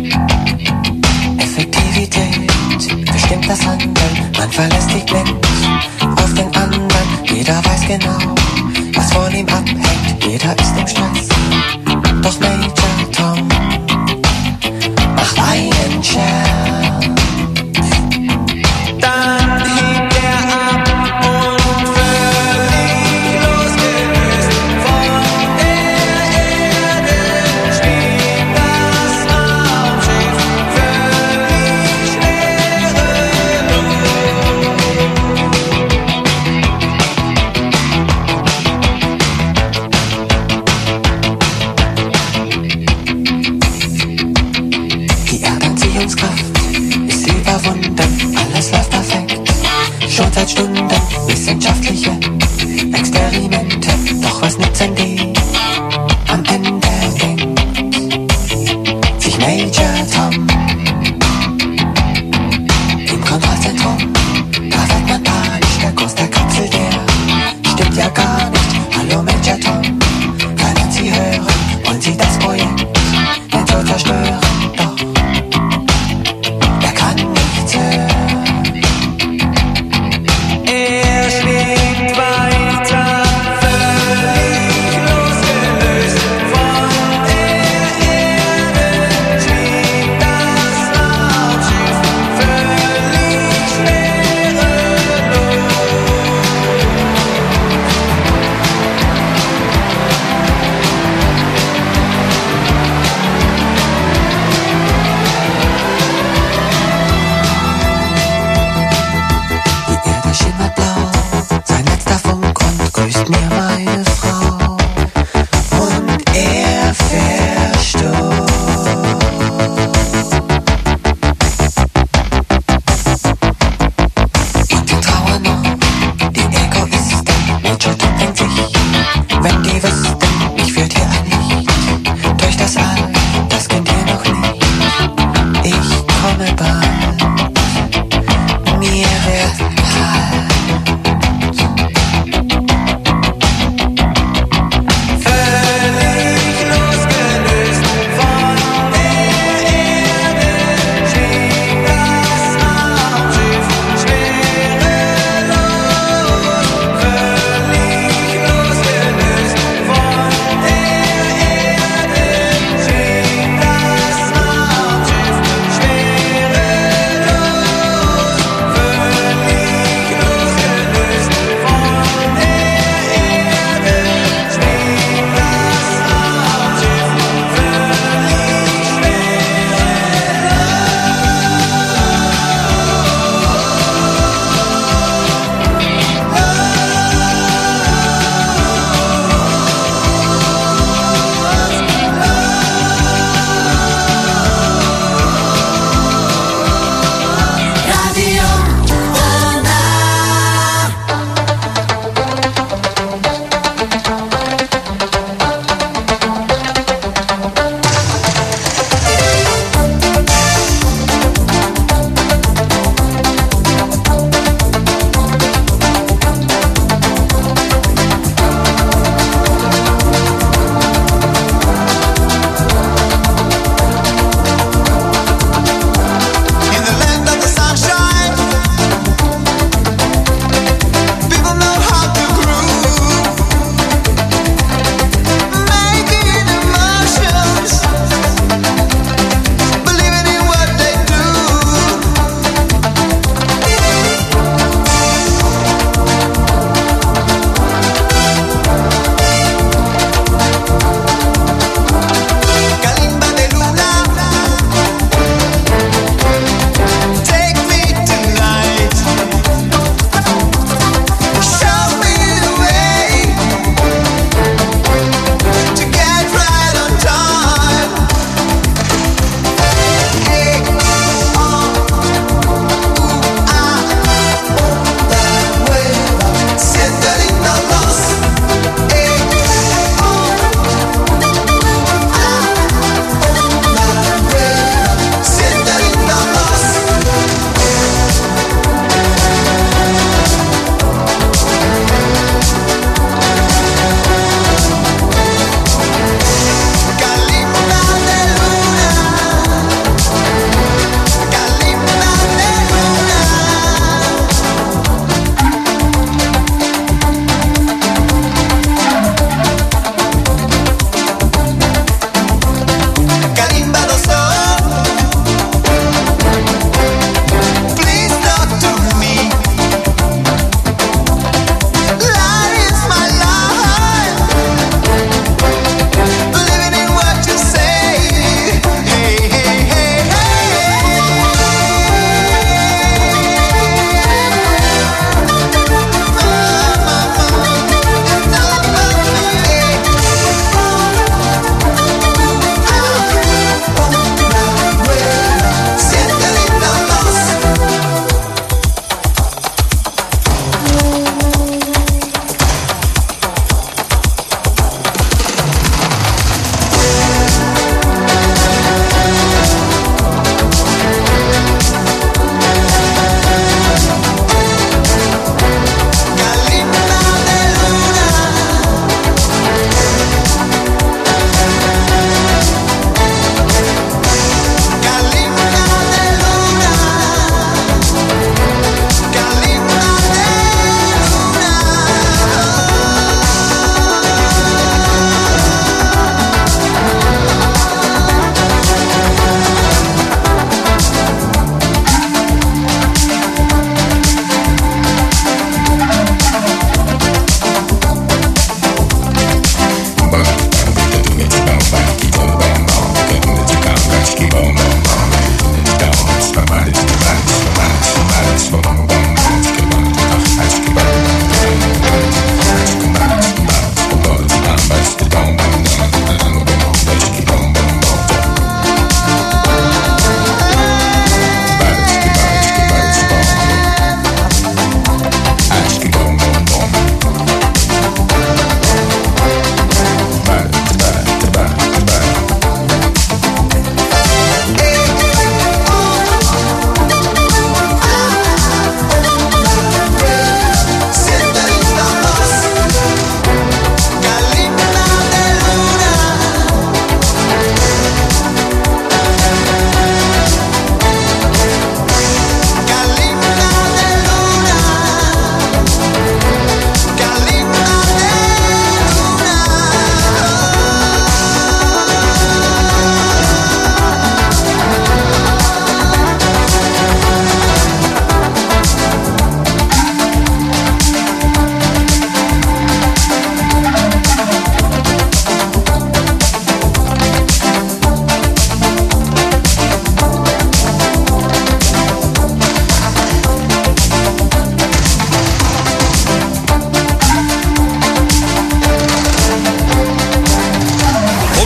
Effektivität bestimmt das Handeln. Man verlässt sich blind auf den anderen. Jeder weiß genau, was von ihm abhängt. Jeder ist im Stress. Doch Major Tom macht einen Scherz. Dann hebt er ab und verliert seit Stunden wissenschaftliche Experimente. Doch was nützen die? Am Ende denkt sich Major Tom im Kontrollzentrum. Da wird man panisch, der Kurs der Kapsel, der stimmt ja gar nicht. Hallo Major Tom, können Sie hören? Wollen Sie das Projekt denn so zerstören? Doch er kann nichts hören. Er schwebt weit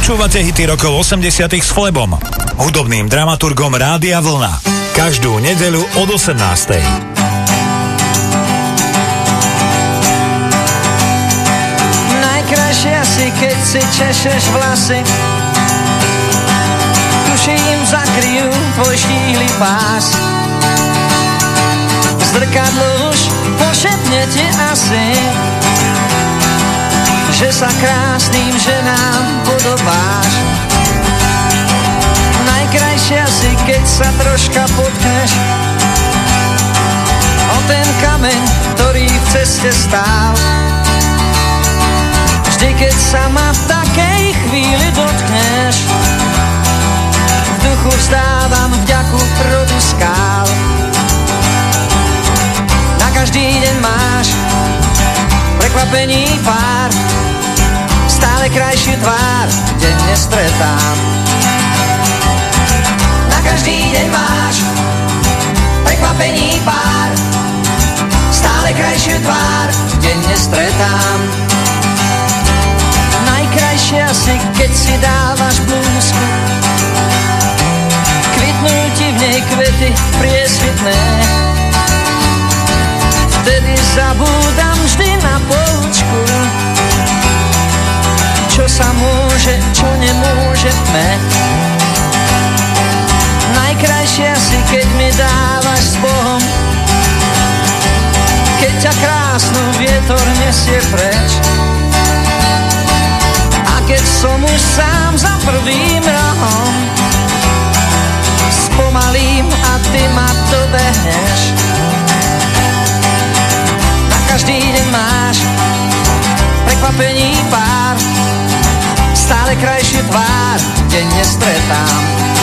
Počúvate hity rokov 80 s Flebom, hudobným dramaturgom Rádia Vlna. Každú nedeľu od 18. Najkrajšie asi, keď si češeš vlasy, tuším zakryjú tvoj štíhly pás. Zrkadlo už pošepne ti asi, že sa krásnym ženám podobáš. Najkrajšie asi, keď sa troška potkneš o ten kameň, ktorý v ceste stál. Vždy, keď sa ma v takej chvíli dotkneš, v duchu vzdávam vďaku rodu skál. Na každý deň máš prekvapení pár, stále krajšiu tvár denne stretám. Na každý deň máš prekvapení pár, stále krajšiu tvár denne stretám. Najkrajšie asi, keď si dávaš blúzku, kvitnú ti v nej kvety priesvitné. Vtedy zabúdam vždy na poučku, čo sa môže, čo nemôže tme. Najkrajšie asi, keď mi dávaš s Bohom, keď ťa krásnu vietor nesie preč. A keď som už sám za prvým rohom, spomalím a ty ma dobehneš. Na každý deň máš prekvapení pár, stále krajšiu tvár denne stretám.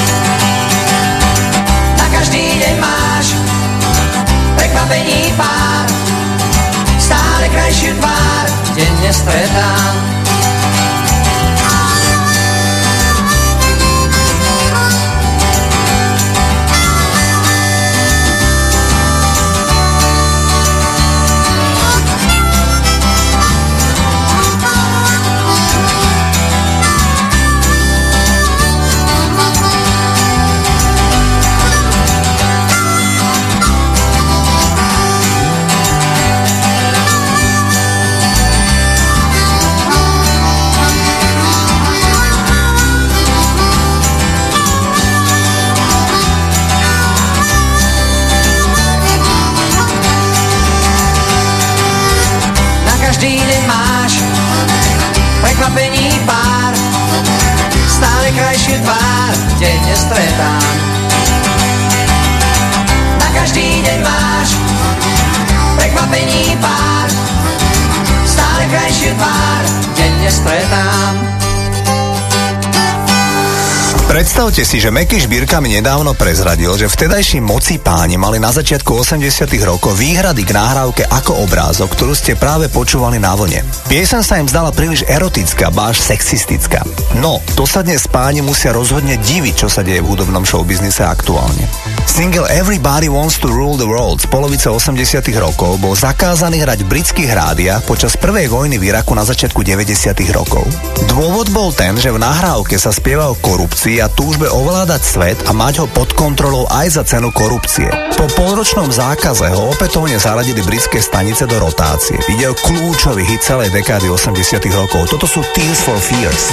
Na každý deň máš prekvapení pár, stále krajšiu tvár denne stretám. Prekvapení pár, stále krajšiu tvár denne stretám. Na každý deň máš prekvapení pár, stále krajšiu tvár denne stretám. Predstavte si, že Meky Šbírka mi nedávno prezradil, že vtedajší moci páni mali na začiatku 80 rokov výhrady k nahrávke Ako obrázok, ktorú ste práve počúvali na Vlne. Pieseň sa im zdala príliš erotická, ba až sexistická. No, to sa dnes páni musia rozhodne diviť, čo sa deje v hudobnom showbiznise aktuálne. Single Everybody Wants to Rule the World z polovice 80 rokov bol zakázaný hrať v britských rádiách počas prvej vojny v Iraku na začiatku 90 rokov. Dôvod bol ten, že v nahrávke sa spieva o korupcii a túžbe ovládať svet a mať ho pod kontrolou aj za cenu korupcie. Po polročnom zákaze ho opätovne zaradili britské stanice do rotácie. Ide o kľúčový hit celej dekády 80 rokov. Toto sú Tears for Fears.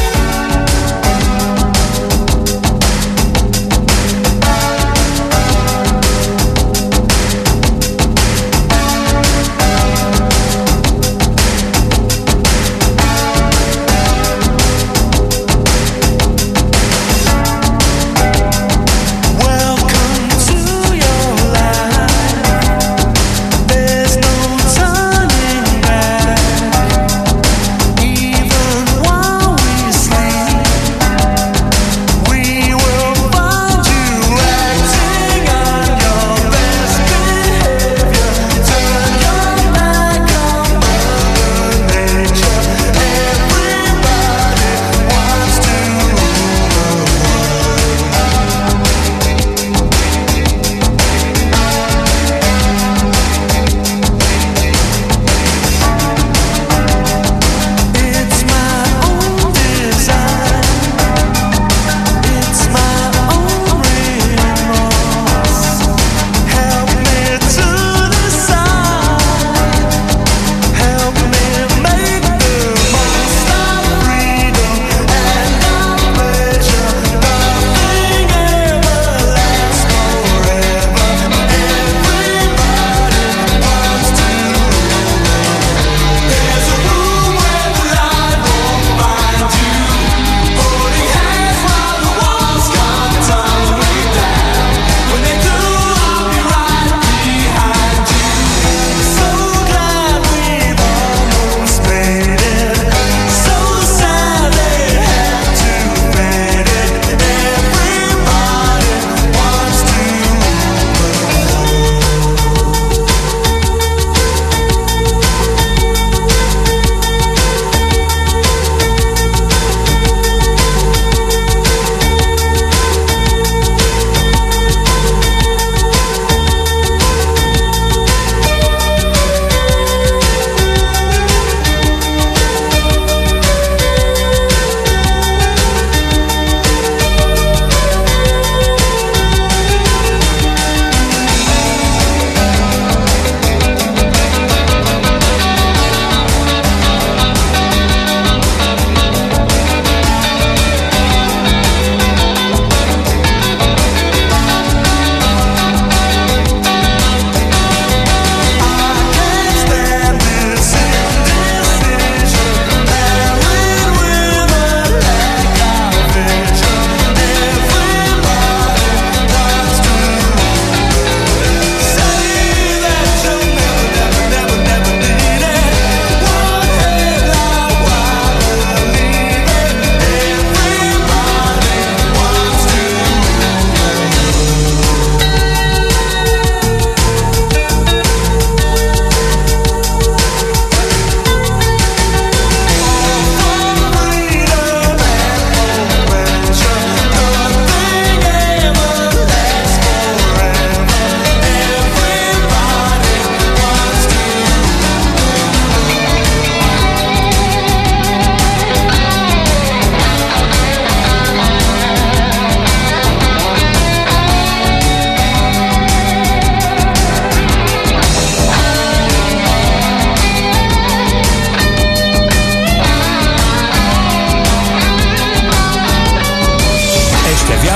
Even while we sleep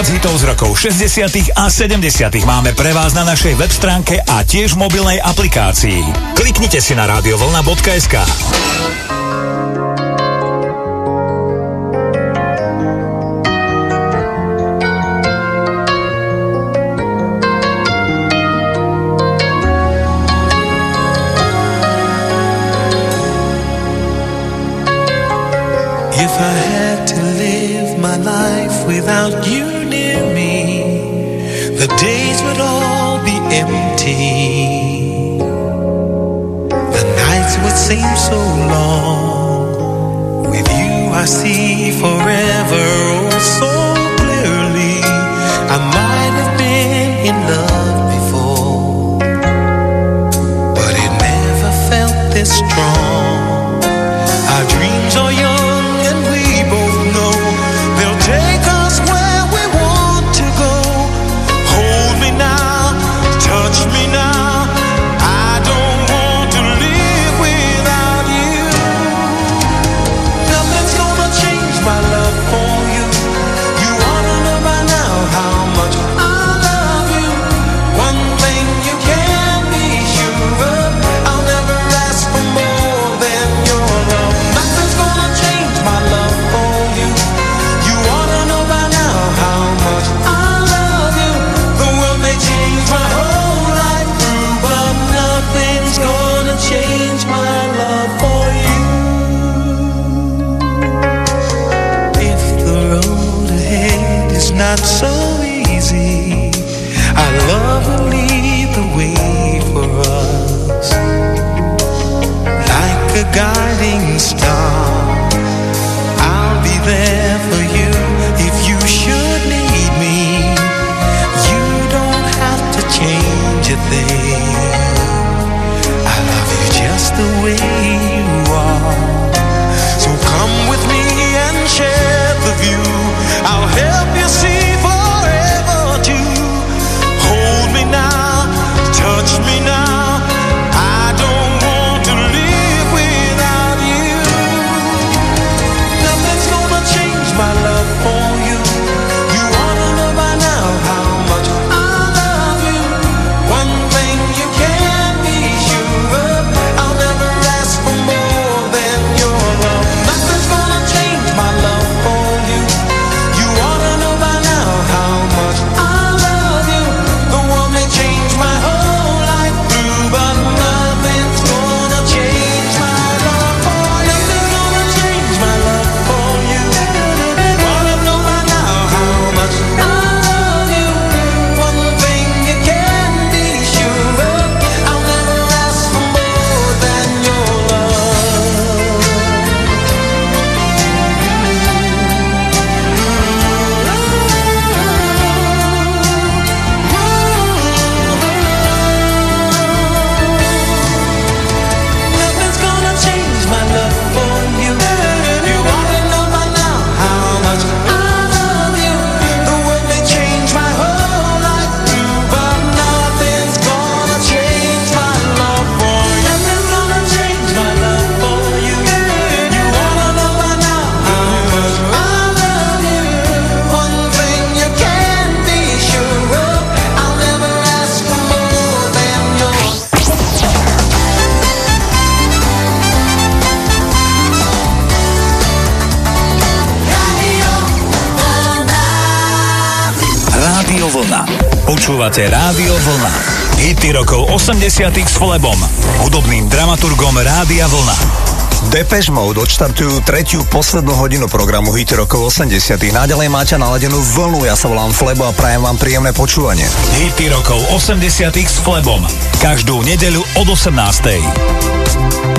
Najviac hitov z rokov 60. a 70. máme pre vás na našej web stránke a tiež v mobilnej aplikácii. Kliknite si na radiovlna.sk. If I had to live my life without you near me, the days would all be empty. The nights would seem so long. With you I see forever oh so clearly. I might have been in love before, but it never felt this strong. Our dreams are young, take us where we want to go. Hold me now, touch me now. I don't want to live without you. Nothing's gonna change my love for you. You ought to know by now how much I love you. One thing you can be sure of, I'll never ask for more than your love. Nothing's gonna change my love for you. Change my love for you. If the road ahead is not so easy, our love will lead the way for us. Like a guiding star, I'll be there for you if you should need me. You don't have to change a thing. Just the way you are. So come with me and share the view. I'll help you see forever too. Hold me now, touch me now. I don't want to live without you. Nothing's gonna change my love for you. You ought to know by now how much I love you. One thing you can be sure of, I'll never ask for more than your love. Nothing's gonna change my love for you. You ought to know by now how much I love you. The world may change my whole life through, but nothing's gonna change my love for you. Nothing's gonna change my love for you. You ought to know by now how much I love you. One thing you can be sure of, I'll never ask for more than your love. Nothing's gonna change my love for you. You ought to know by now how much I love you. The world may change my whole life through, but nothing's gonna change my love for you. Nothing's gonna change my love for you. You ought to know by now how much I love you. One thing you can be sure of, I'll never ask for more than yours. Rádio Vlna. Počúvate Rádio Vlna. Hity rokov 80 s Flebom, hudobným dramaturgom Rádia Vlna. Depeche Mode odštartujú tretiu poslednú hodinu programu Hity rokov 80. Naďalej máte naladenú vlnu, ja sa volám Flebo a prajem vám príjemné počúvanie. Hity rokov 80 s Flebom. Každú nedeľu od 18.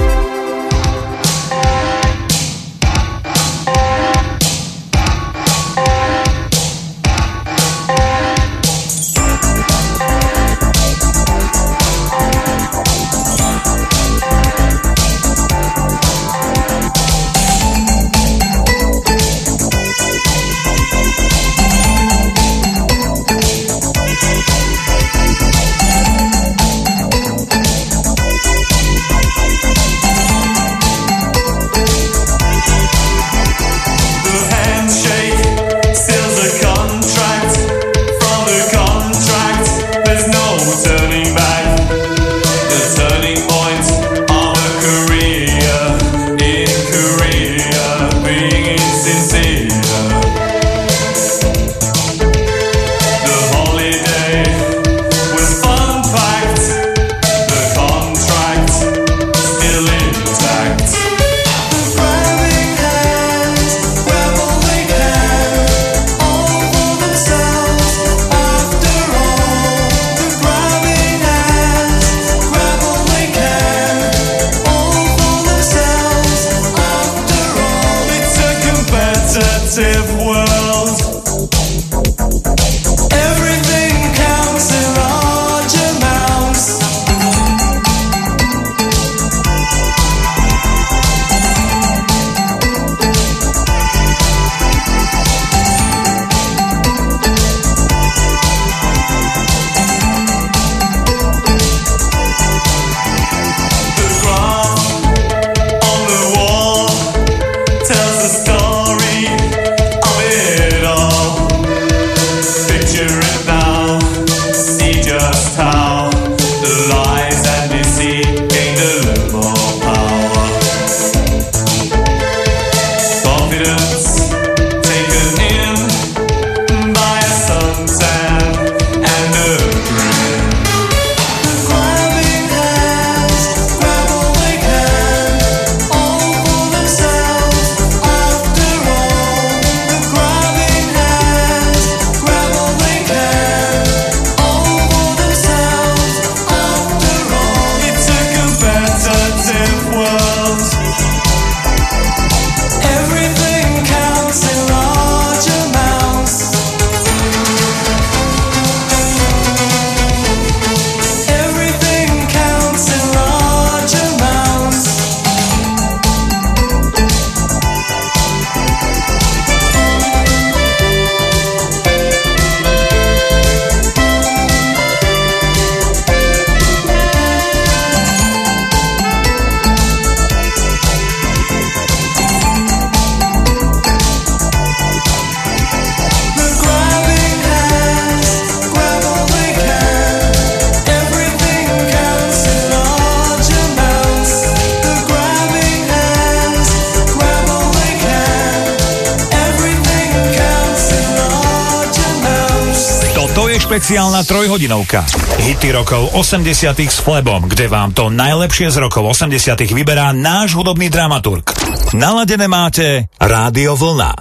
špeciálna trojhodinovka. Hity rokov 80 s Flebom, kde vám to najlepšie z rokov 80 vyberá náš hudobný dramaturg. Naladené máte Rádio Vlna.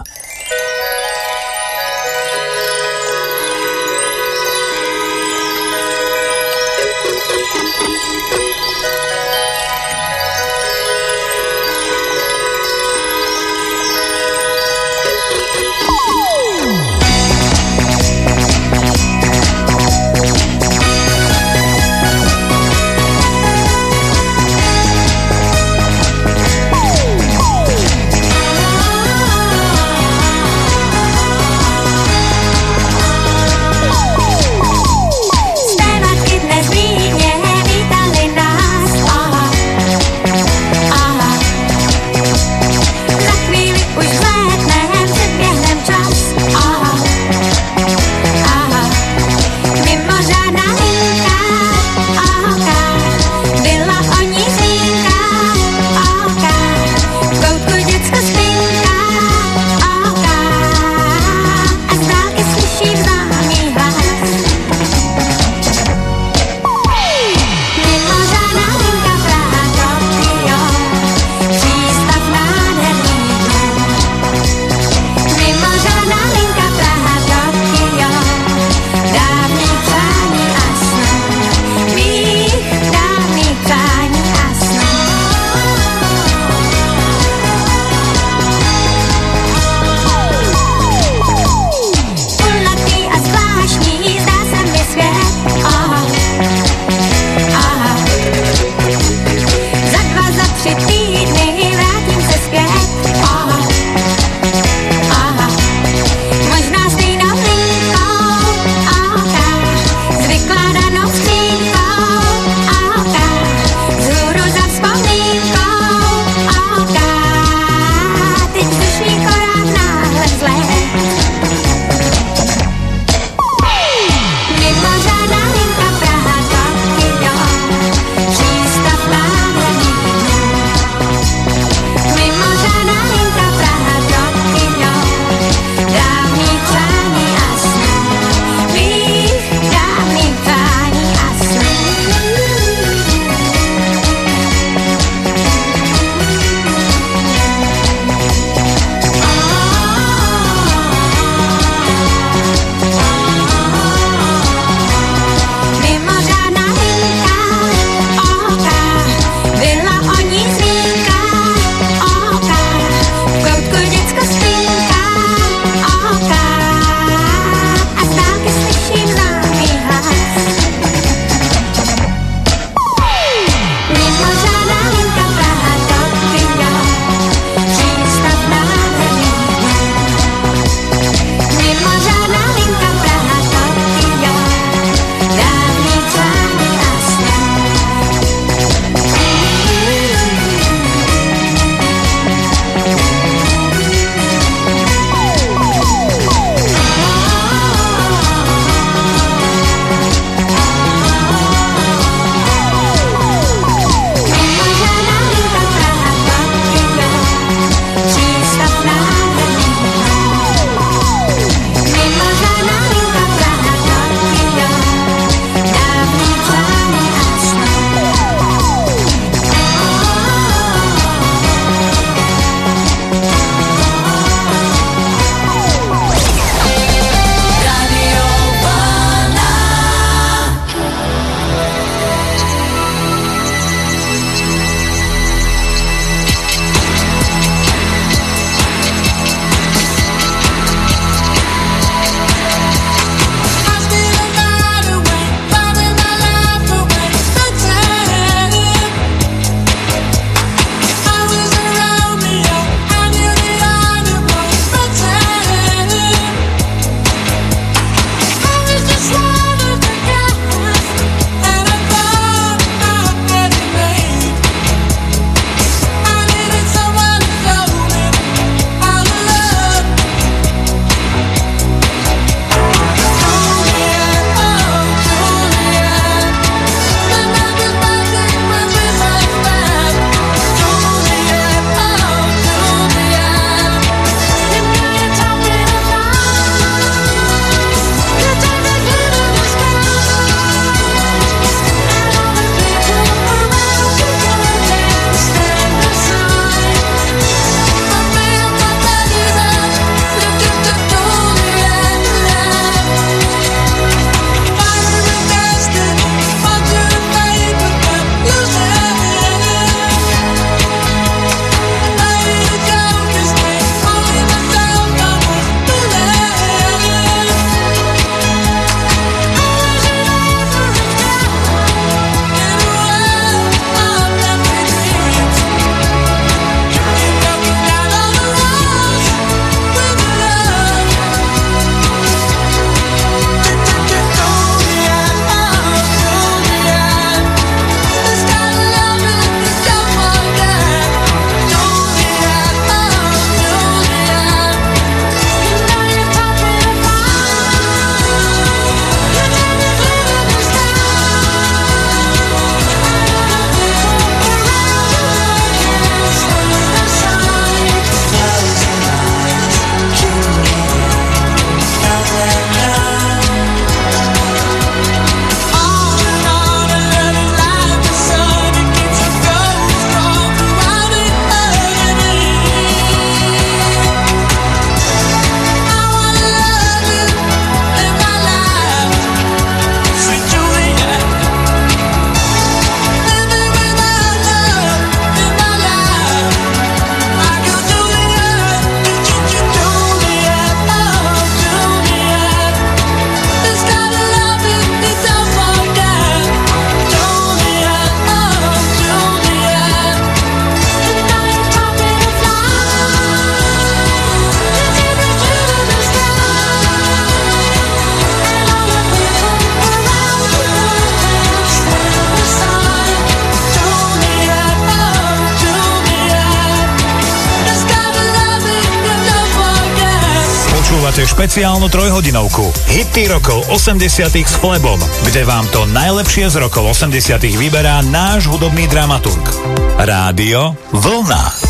Počúvate špeciálnu trojhodinovku Hity rokov 80 s Flebom, kde vám to najlepšie z rokov 80 vyberá náš hudobný dramaturg. Rádio Vlna.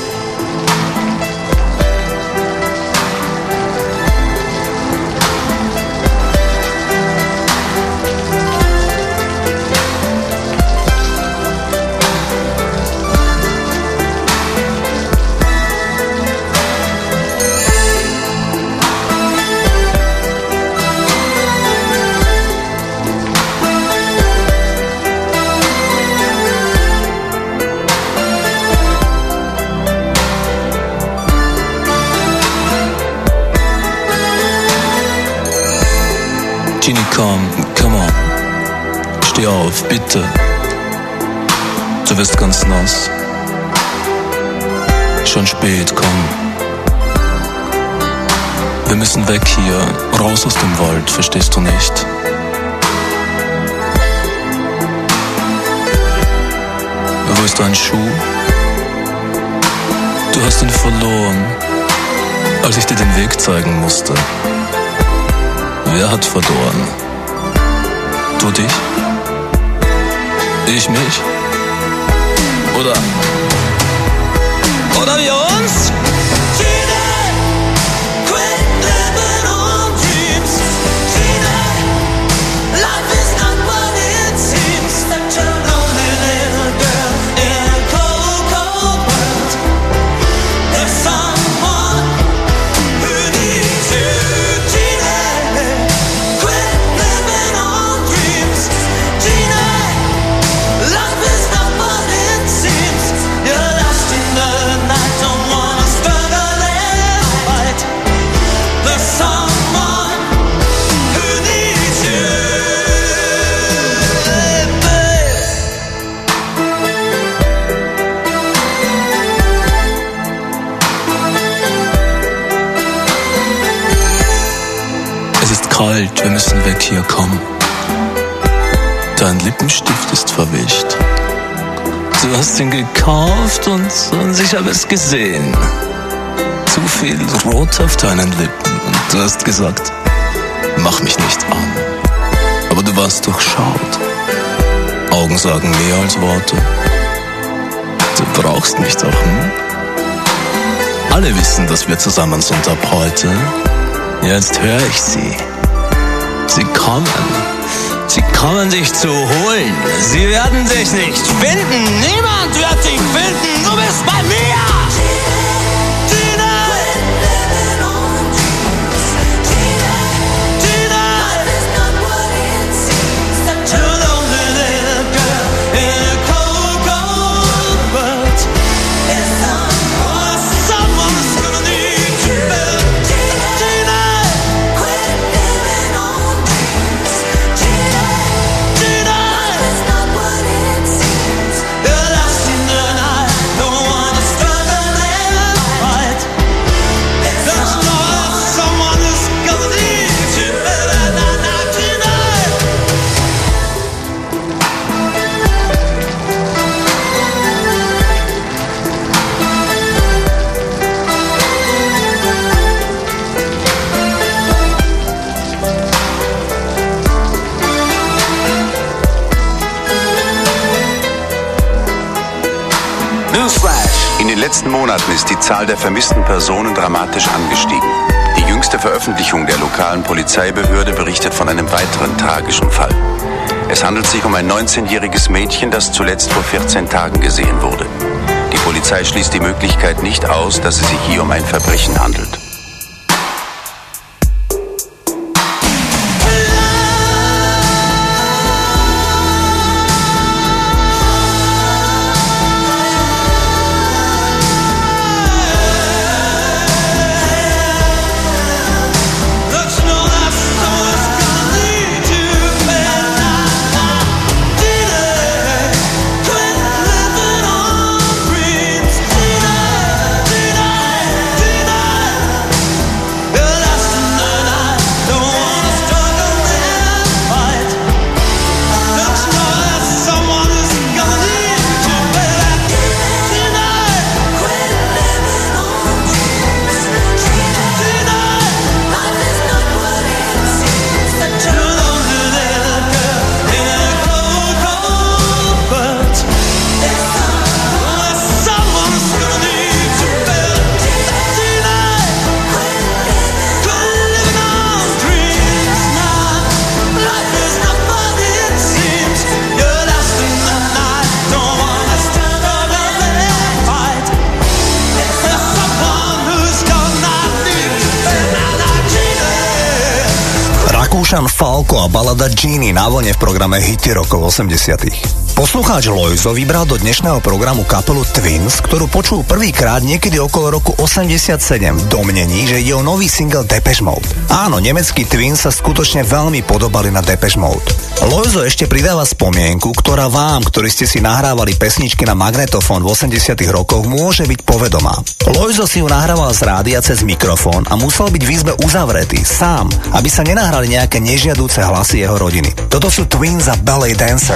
Genie, come on. Steh auf, bitte. Du wirst ganz nass. Schon spät, komm. Wir müssen weg hier, raus aus dem Wald, verstehst du nicht? Wo ist dein Schuh? Du hast ihn verloren, als ich dir den Weg zeigen musste. Wer hat verloren? Du dich? Ich mich? Oder wir uns? Kalt, wir müssen weg hier, komm. Dein Lippenstift ist verwischt. Du hast ihn gekauft und ich habe es gesehen. Zu viel Rot auf deinen Lippen und du hast gesagt, mach mich nicht an. Aber du warst durchschaut. Augen sagen mehr als Worte. Du brauchst mich doch, hm? Alle wissen, dass wir zusammen sind ab heute. Jetzt höre ich sie. Sie kommen dich zu holen. Sie werden dich nicht finden. Niemand wird dich finden. Du bist bei mir. In den letzten Monaten ist die Zahl der vermissten Personen dramatisch angestiegen. Die jüngste Veröffentlichung der lokalen Polizeibehörde berichtet von einem weiteren tragischen Fall. Es handelt sich um ein 19-jähriges Mädchen, das zuletzt vor 14 Tagen gesehen wurde. Die Polizei schließt die Möglichkeit nicht aus, dass es sich hier um ein Verbrechen handelt. Ocean Falco a balada Genie na vlne v programe Hity rokov 80. Poslucháč Lojzo vybral do dnešného programu kapelu Twins, ktorú počul prvýkrát niekedy okolo roku 87 v domnení, že ide o nový single Depeche Mode. Áno, nemeckí Twins sa skutočne veľmi podobali na Depeche Mode. Lojzo ešte pridáva spomienku, ktorá vám, ktorí ste si nahrávali pesničky na magnetofón v 80 rokoch, môže byť povedomá. Lojzo si ju nahrával z rádia cez mikrofón a musel byť v izbe uzavretý, sám, aby sa nenahrali nejaké nežiaduce hlasy jeho rodiny. Toto sú Twins a Ballet Dancer.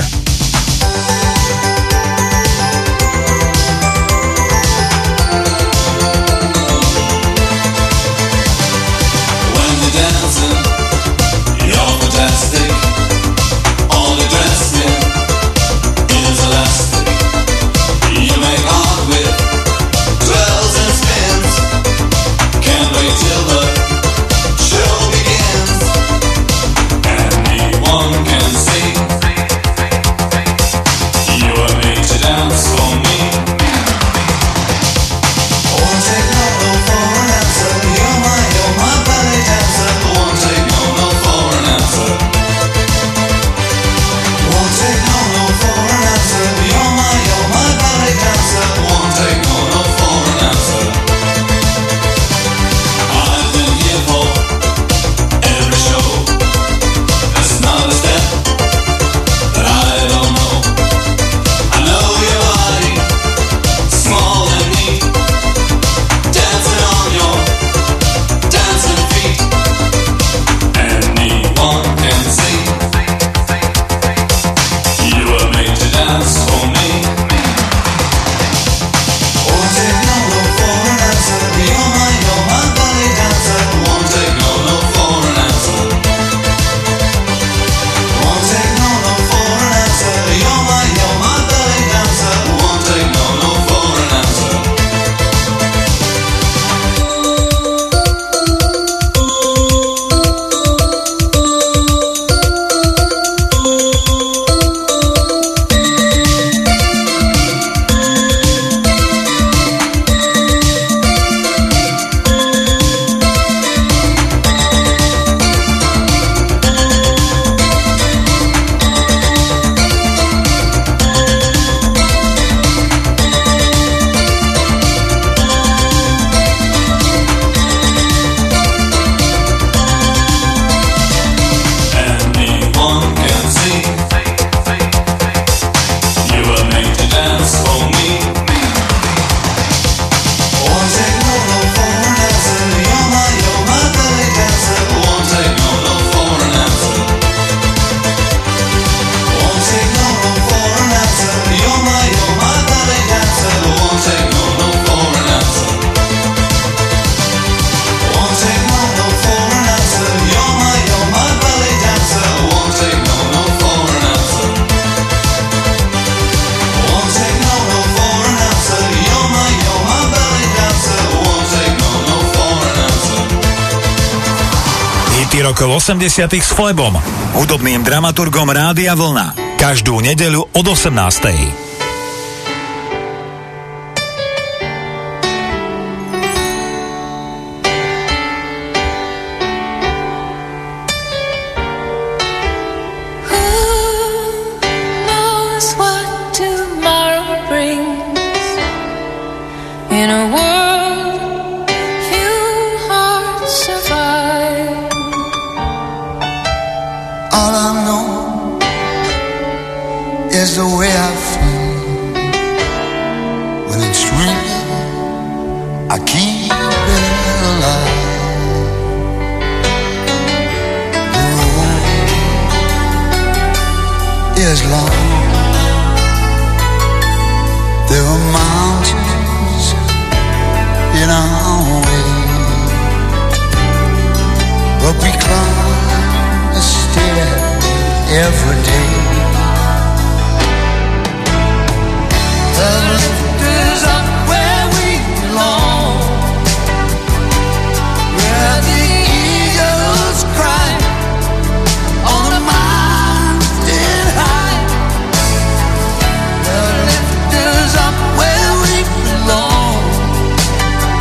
Rokov 80 s Flebom, hudobným dramaturgom Rádia Vlna. Každú nedeľu od 18.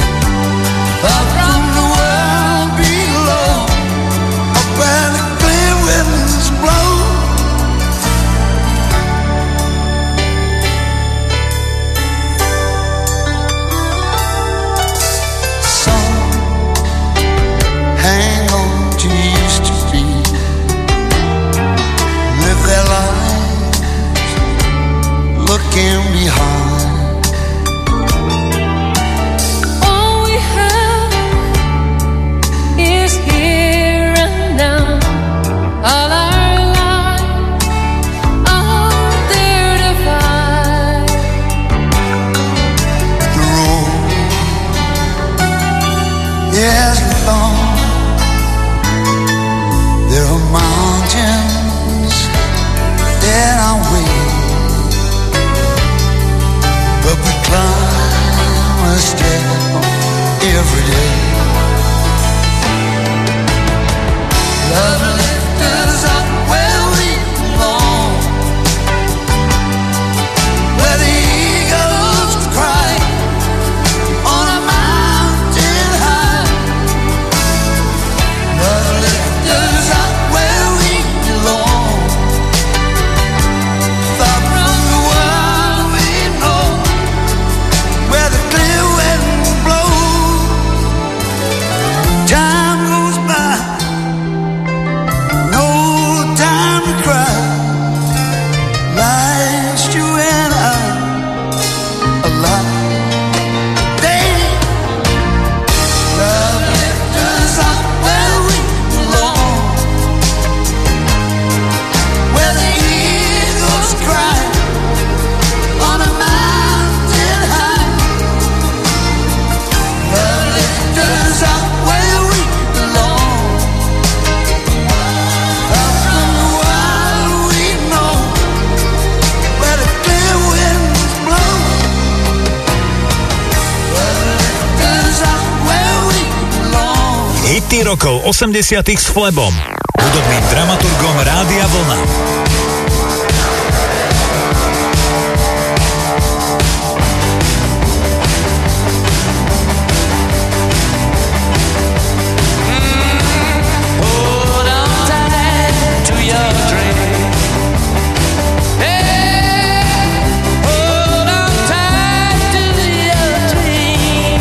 Up from the world below, up and clear Yes, Lord, there are mountains in our way, but we climb a step every day. Love lifts us up where we belong, where the eagles cry on a mountain high. Love lifts us up where we belong, far from the world we know, where the clear winds blow. Time goes by, no time to cry. Life's you and I alive. Love lifts us up where we belong, where the eagles cry on a mountain high. Love lifts us up where we belong, far from the world we know, where the clear winds blow. Love lifts us up where we belong. Hity rokov 80 s Flebom, hudobným dramaturgom Rádia Vlna. Hold on tight to your dream. Hey, hold on tight to your dream.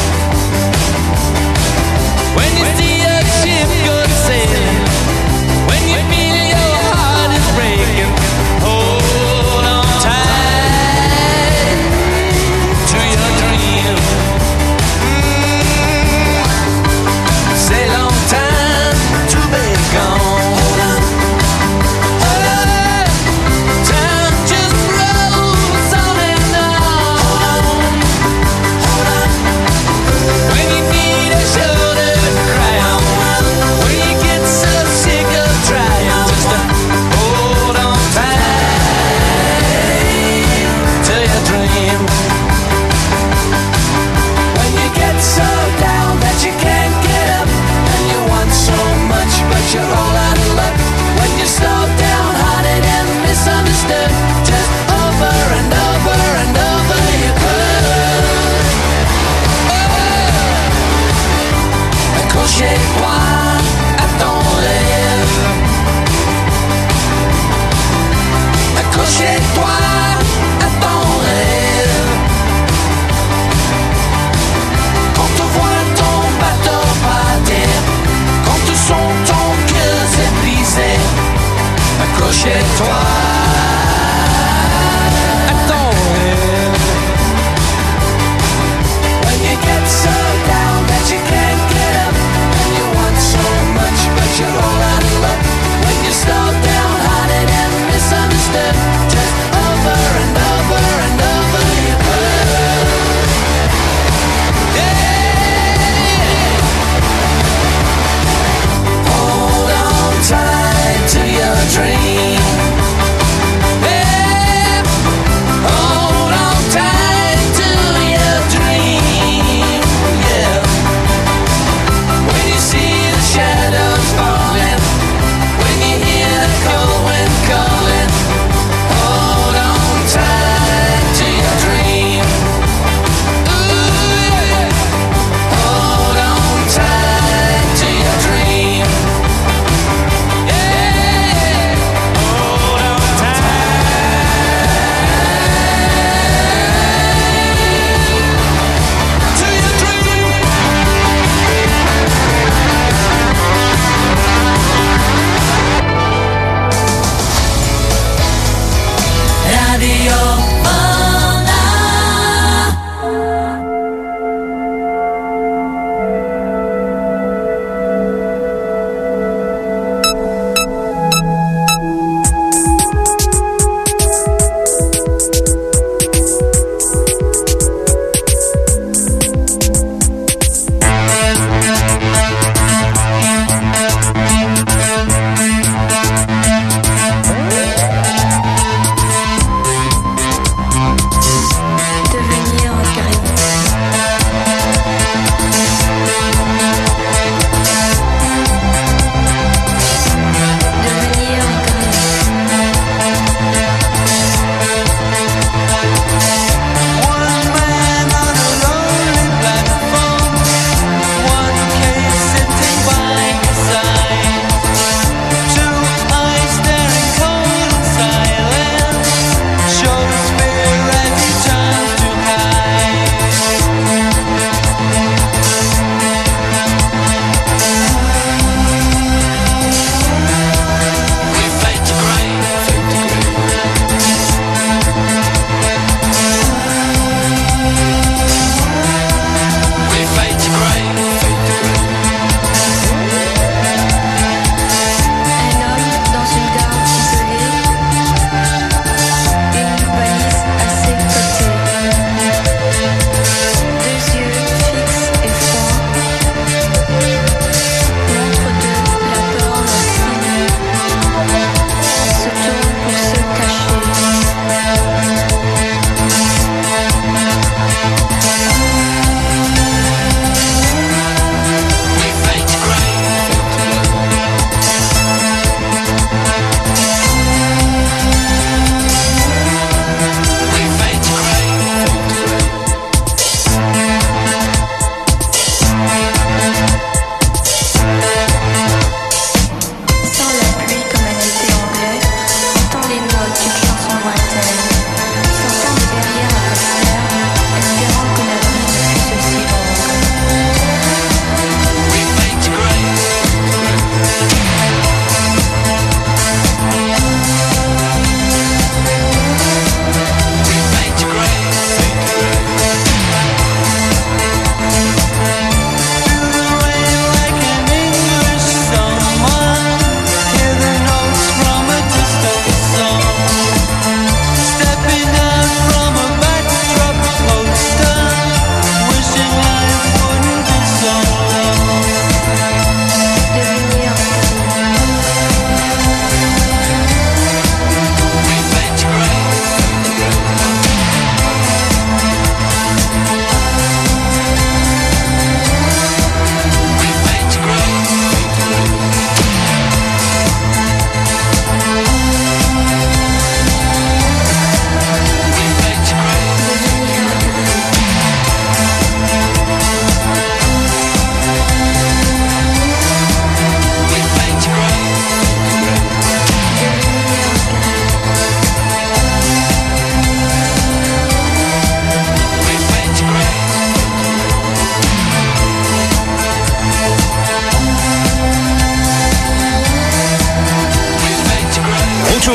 When you see a ship go sailing, when you feel your heart is breaking, hold on tight to your dream. Say long time to be gone. Hold on, time just rolls on and on. When you need a shoulder to cry on, when you get so sick of trying, just hold on tight to your dream. When you get so down that you can't get up, and you want so much but you're all out of luck, when you're so downhearted and misunderstood, just over and over and over you could. Accrochez-toi, attends-les. Accrochez-toi, attends-les. Quand tu vois ton bateau partir, quand tu sens ton cœur s'est brisé, accrochez-toi, attends-les. When you get so down that you can't get up, and you want so much but you're all out of luck, when you're so downhearted and misunderstood, just over and over and over you could. Yeah. Hold on tight to your dream.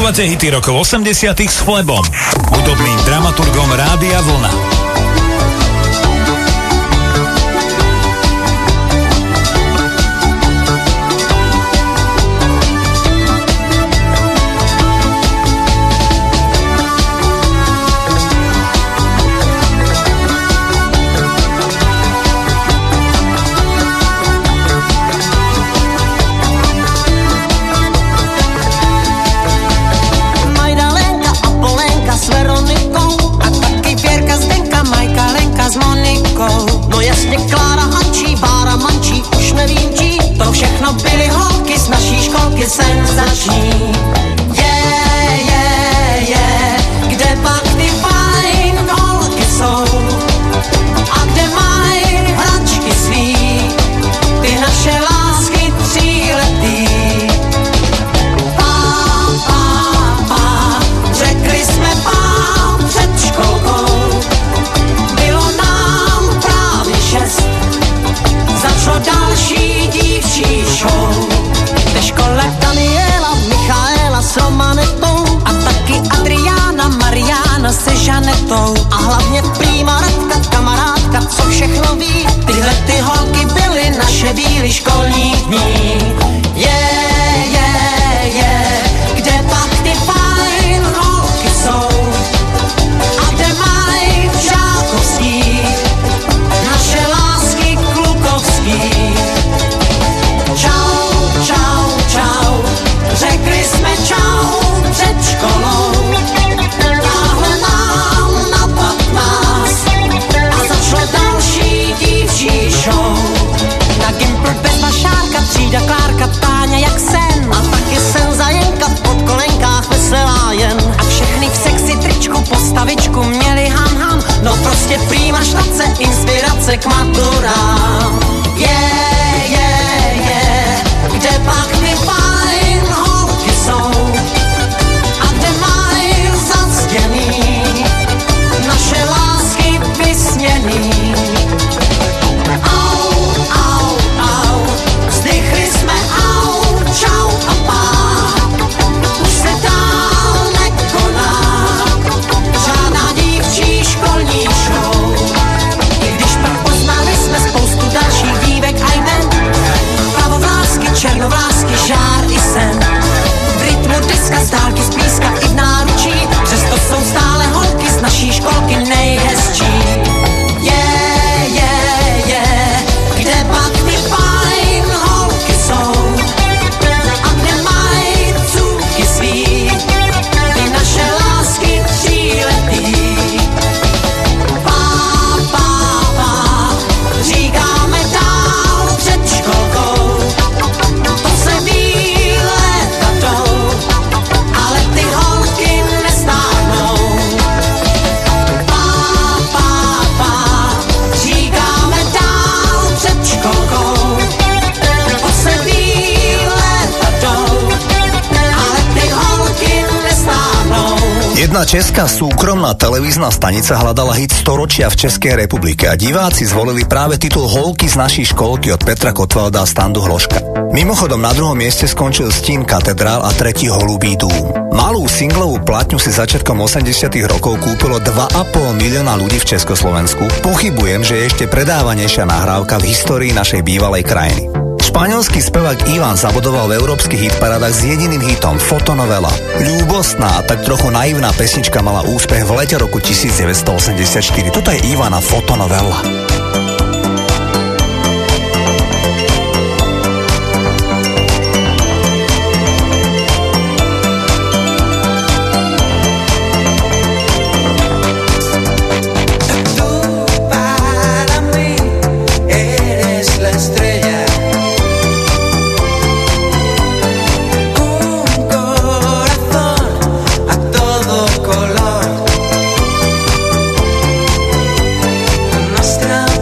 Počúvate hity rokov 80 s Flebom, hudobným dramaturgom Rádia Vlna. Senzační. Kde pak ty fajn holky jsou? A kde mají hračky svý? Ty naše lásky tříletý. Řekli jsme pán před školkou. Bylo nám právě 6. Začalo další dívčí show. Ve škole Daniela, Michaela s Romanetou a taky Adriána, Mariána se Žanetou. A hlavně prýma Radka, kamarádka, co všechno ví. Tyhle ty holky byly naše bílý školní dní. Kde pak ty fajn holky jsou? A kde mají v žákovský naše lásky klukovský? Řekli jsme čau před školou, táhle nám na 15 a začalo další dívčí show. Na Gimpl bez Vašárka, třída Klárka, Táňa jak sen a taky sen Zajenka v podkolenkách veselá jen. A všechny v sexy tričku postavičku měli ham, no prostě prýma štace, inspirace k maturám. Kde pak ty fajn holky jsou? A kde mají zactěný naše lásky vysněný? Au, vzdychli jsme au, čau a pák. Už se dál nekoná žádná dívčí školní show. I když pak poznali jsme spoustu dalších dívek a jmen, černovlásky, žár i sen. V rytmu diska, z dálky, z blízka i v náručí, přesto jsou stále holky z naší školky nejhezčí. Kde pak ty fajn holky jsou? A kde mají cůvky svý? Ty naše lásky tříletý. Říkáme dál před školkou. Ale ty holky nestárnou. Říkáme dál před školkou. To se výleta jdou, ale ty holky nestárnou. Jedna česká súkromná televízna stanica hľadala hit storočia v Českej republike a diváci zvolili práve titul Holky z našej školky od Petra Kotvalda a Standu Hloška. Mimochodom na druhom mieste skončil Stín Katedrál a tretí Holubý dúm. Malú singlovú platňu si začiatkom 80 rokov kúpilo 2,5 milióna ľudí v Československu. Pochybujem, že je ešte predávanejšia nahrávka v histórii našej bývalej krajiny. Španielský spevák Ivan zabodoval v európskych hitparádach s jediným hitom Fotonovela. Ľúbostná a tak trochu naivná pesnička mala úspech v lete roku 1984. Toto je Ivana Fotonovela. Nuestra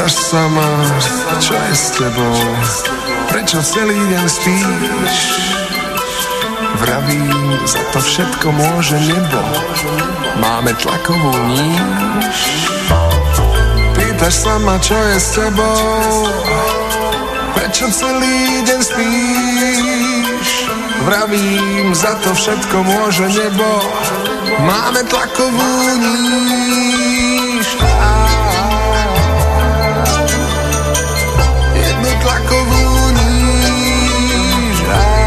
Pýtaš sa ma, čo je s tebou? Prečo celý deň spíš? Vravím, za to všetko môže nebo. Máme tlakovú níž. Pýtaš sa ma, čo je s tebou? Prečo celý deň spíš? Vravím, za to všetko môže nebo. Máme tlakovú níž. Jednu tlakovú níž.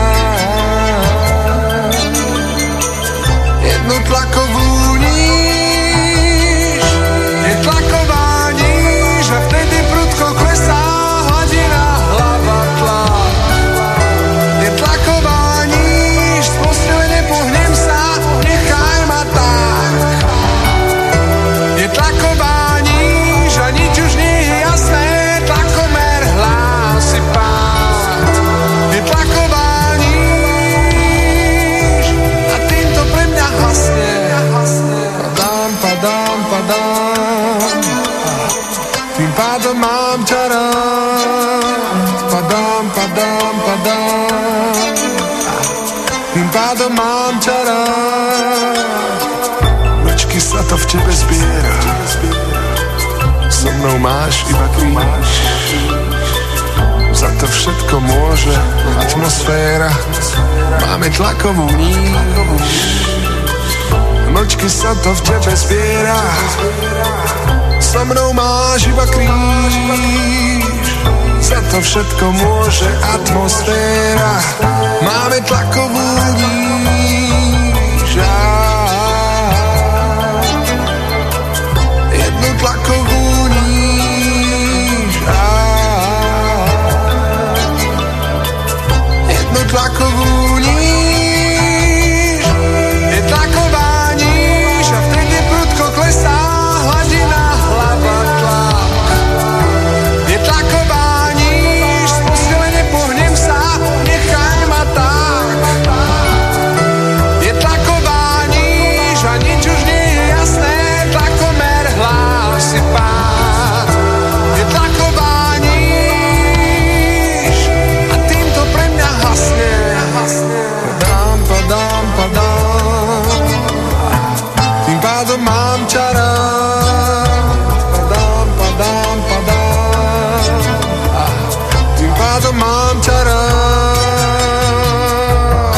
Jednu tlakovú níž. Je tlaková níž a vtedy prudko klesá hladina hlava tlak. Je tlaková níž, z postele nepohnem sa, nechaj ma tak. Je tlaková níž a nič už nie je jasné, tlakomer hlási pád. Je tlaková níž a týmto pre mňa hasne. Padám, padám, padám, tým pádom mám ťa rád. Padám, padám, padám, tým pádom mám ťa rád. Mlčky sa to v tebe zbiera, so mnou máš iba kríž. Za to všetko môže atmosféra, máme tlakovú níž. Mlčky sa to v tebe zbiera, so mnou máš iba kríž. Za to všetko môže atmosféra, máme tlakovú níž. Jednu tlakovú níž. Jednu tlakovú níž. Je tlaková níž a vtedy prudko klesá hladina hlava tlak. Je tlaková níž, z postele nepohnem sa, nechaj ma tak. Je tlaková níž a nič už nie je jasné, tlakomer hlási pád. Je tlaková níž a týmto pre mňa hasne. Padám, padám, padám, tým pádom mám ťa rád. Padám, padám, padám, tým pádom mám ťa rád.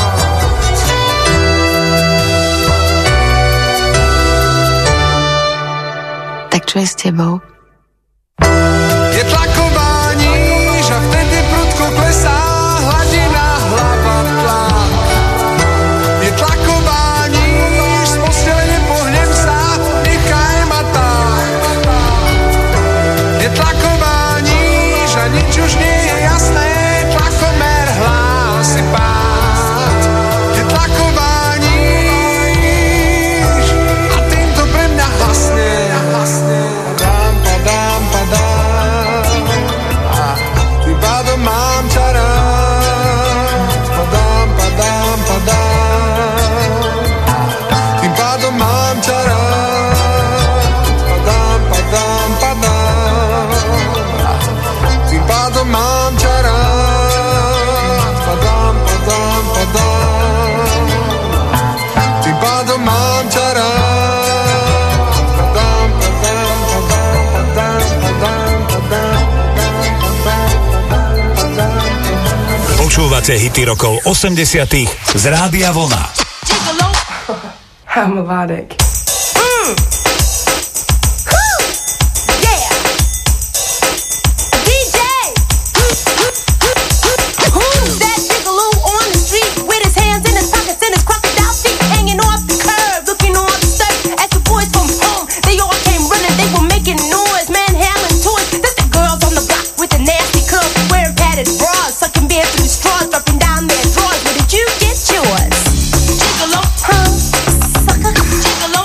Tak čo je s tebou? Je tlaková níž a vtedy prudko klesá hladina hlava tlak. Je tlaková níž, z postele nepohnem sa, nechaj ma tak. Je tlaková níž a nič už nie je jasné, tlakomer hlási pád. Je tlaková níž a týmto pre mňa hasne. Padám, padám, padám, tým pádom mám ťa rád. Padám, padám, padám, tým pádom mám ťa rád. Padám, padám, padám, tým pádom mám ťa rád. Padám, padám, padám, tým pádom mám ťa rád. Počúvate hity rokov 80 z Rádia Vlna. I'm melodic. Gigolo, huh? Sucker, gigolo.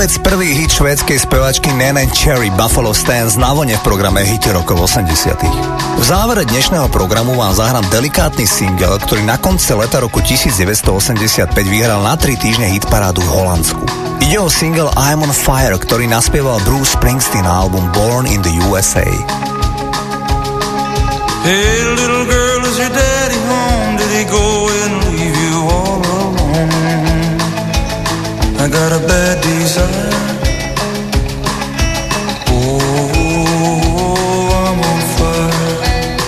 vôbec prvý hit švédskej spevačky Nene Cherry Buffalo Stance na vlne v programe Hity rokov 80. V závere dnešného programu vám zahrám delikátny single, ktorý na konci leta roku 1985 vyhral na 3 týždne hitparádu v Holandsku. Ide o single I'm on Fire, ktorý naspieval Bruce Springsteen na album Born in the USA. Hey little girl, is your daddy home? Did he go and leave you all alone? I got a bad desire. Oh, I'm on fire.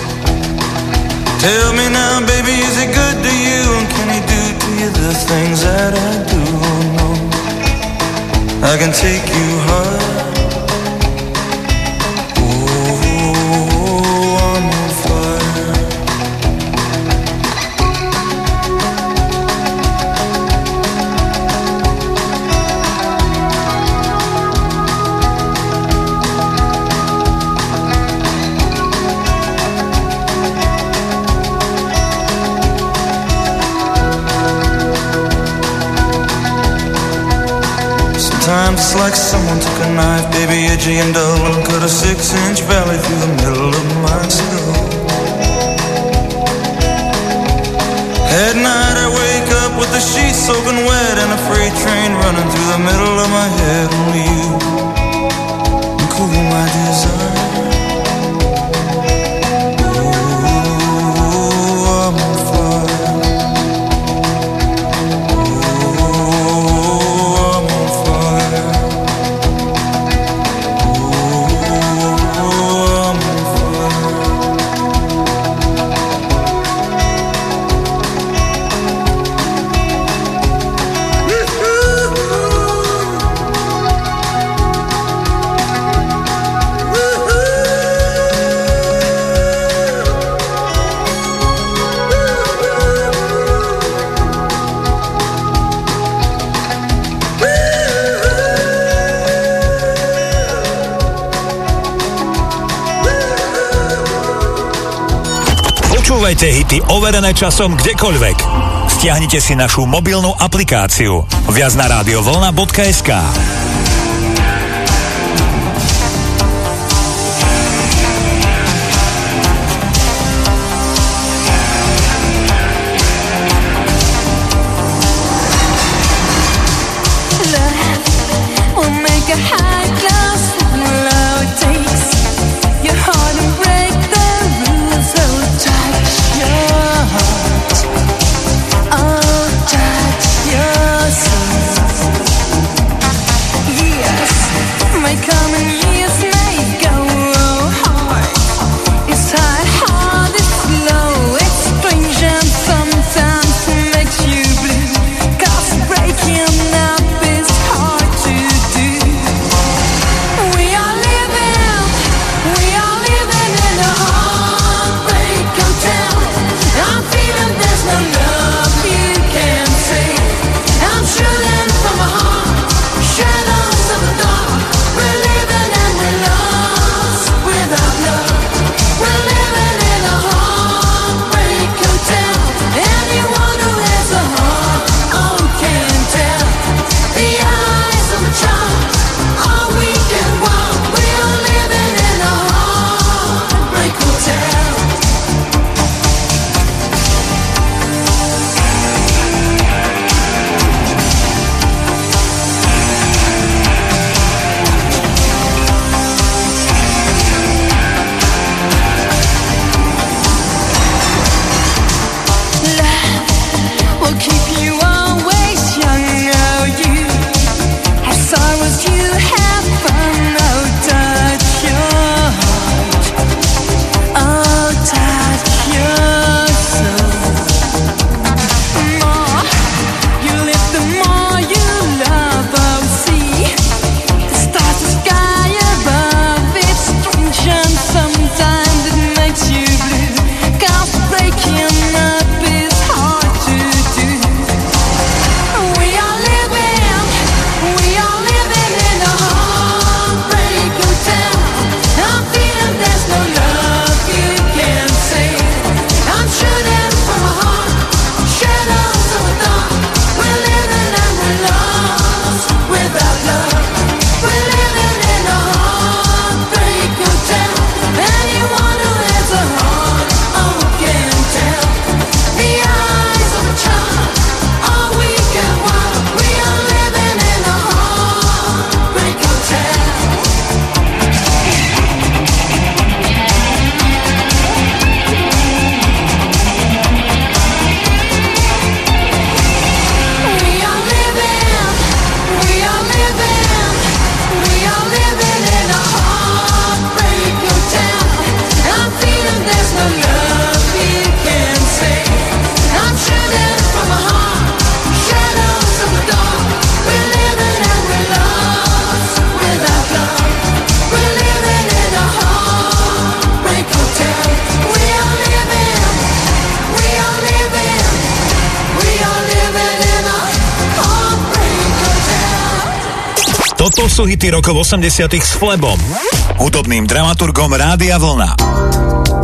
Tell me now, baby, is he good to you? And can he do to you the things that I do? No, I can take you high. Sometimes it's like someone took a knife, baby, edgy and dull, and cut a 6-inch valley through the middle of my skull. At night I wake up with the sheets soaking wet and a freight train running through the middle of my head. Only you can cool my desire. Počúvajte hity overené časom kdekoľvek. Stiahnite si našu mobilnú aplikáciu. Viac na radiovlna.sk. Toto sú hity rokov 80 s Flebom, hudobným dramaturgom Rádia Vlna.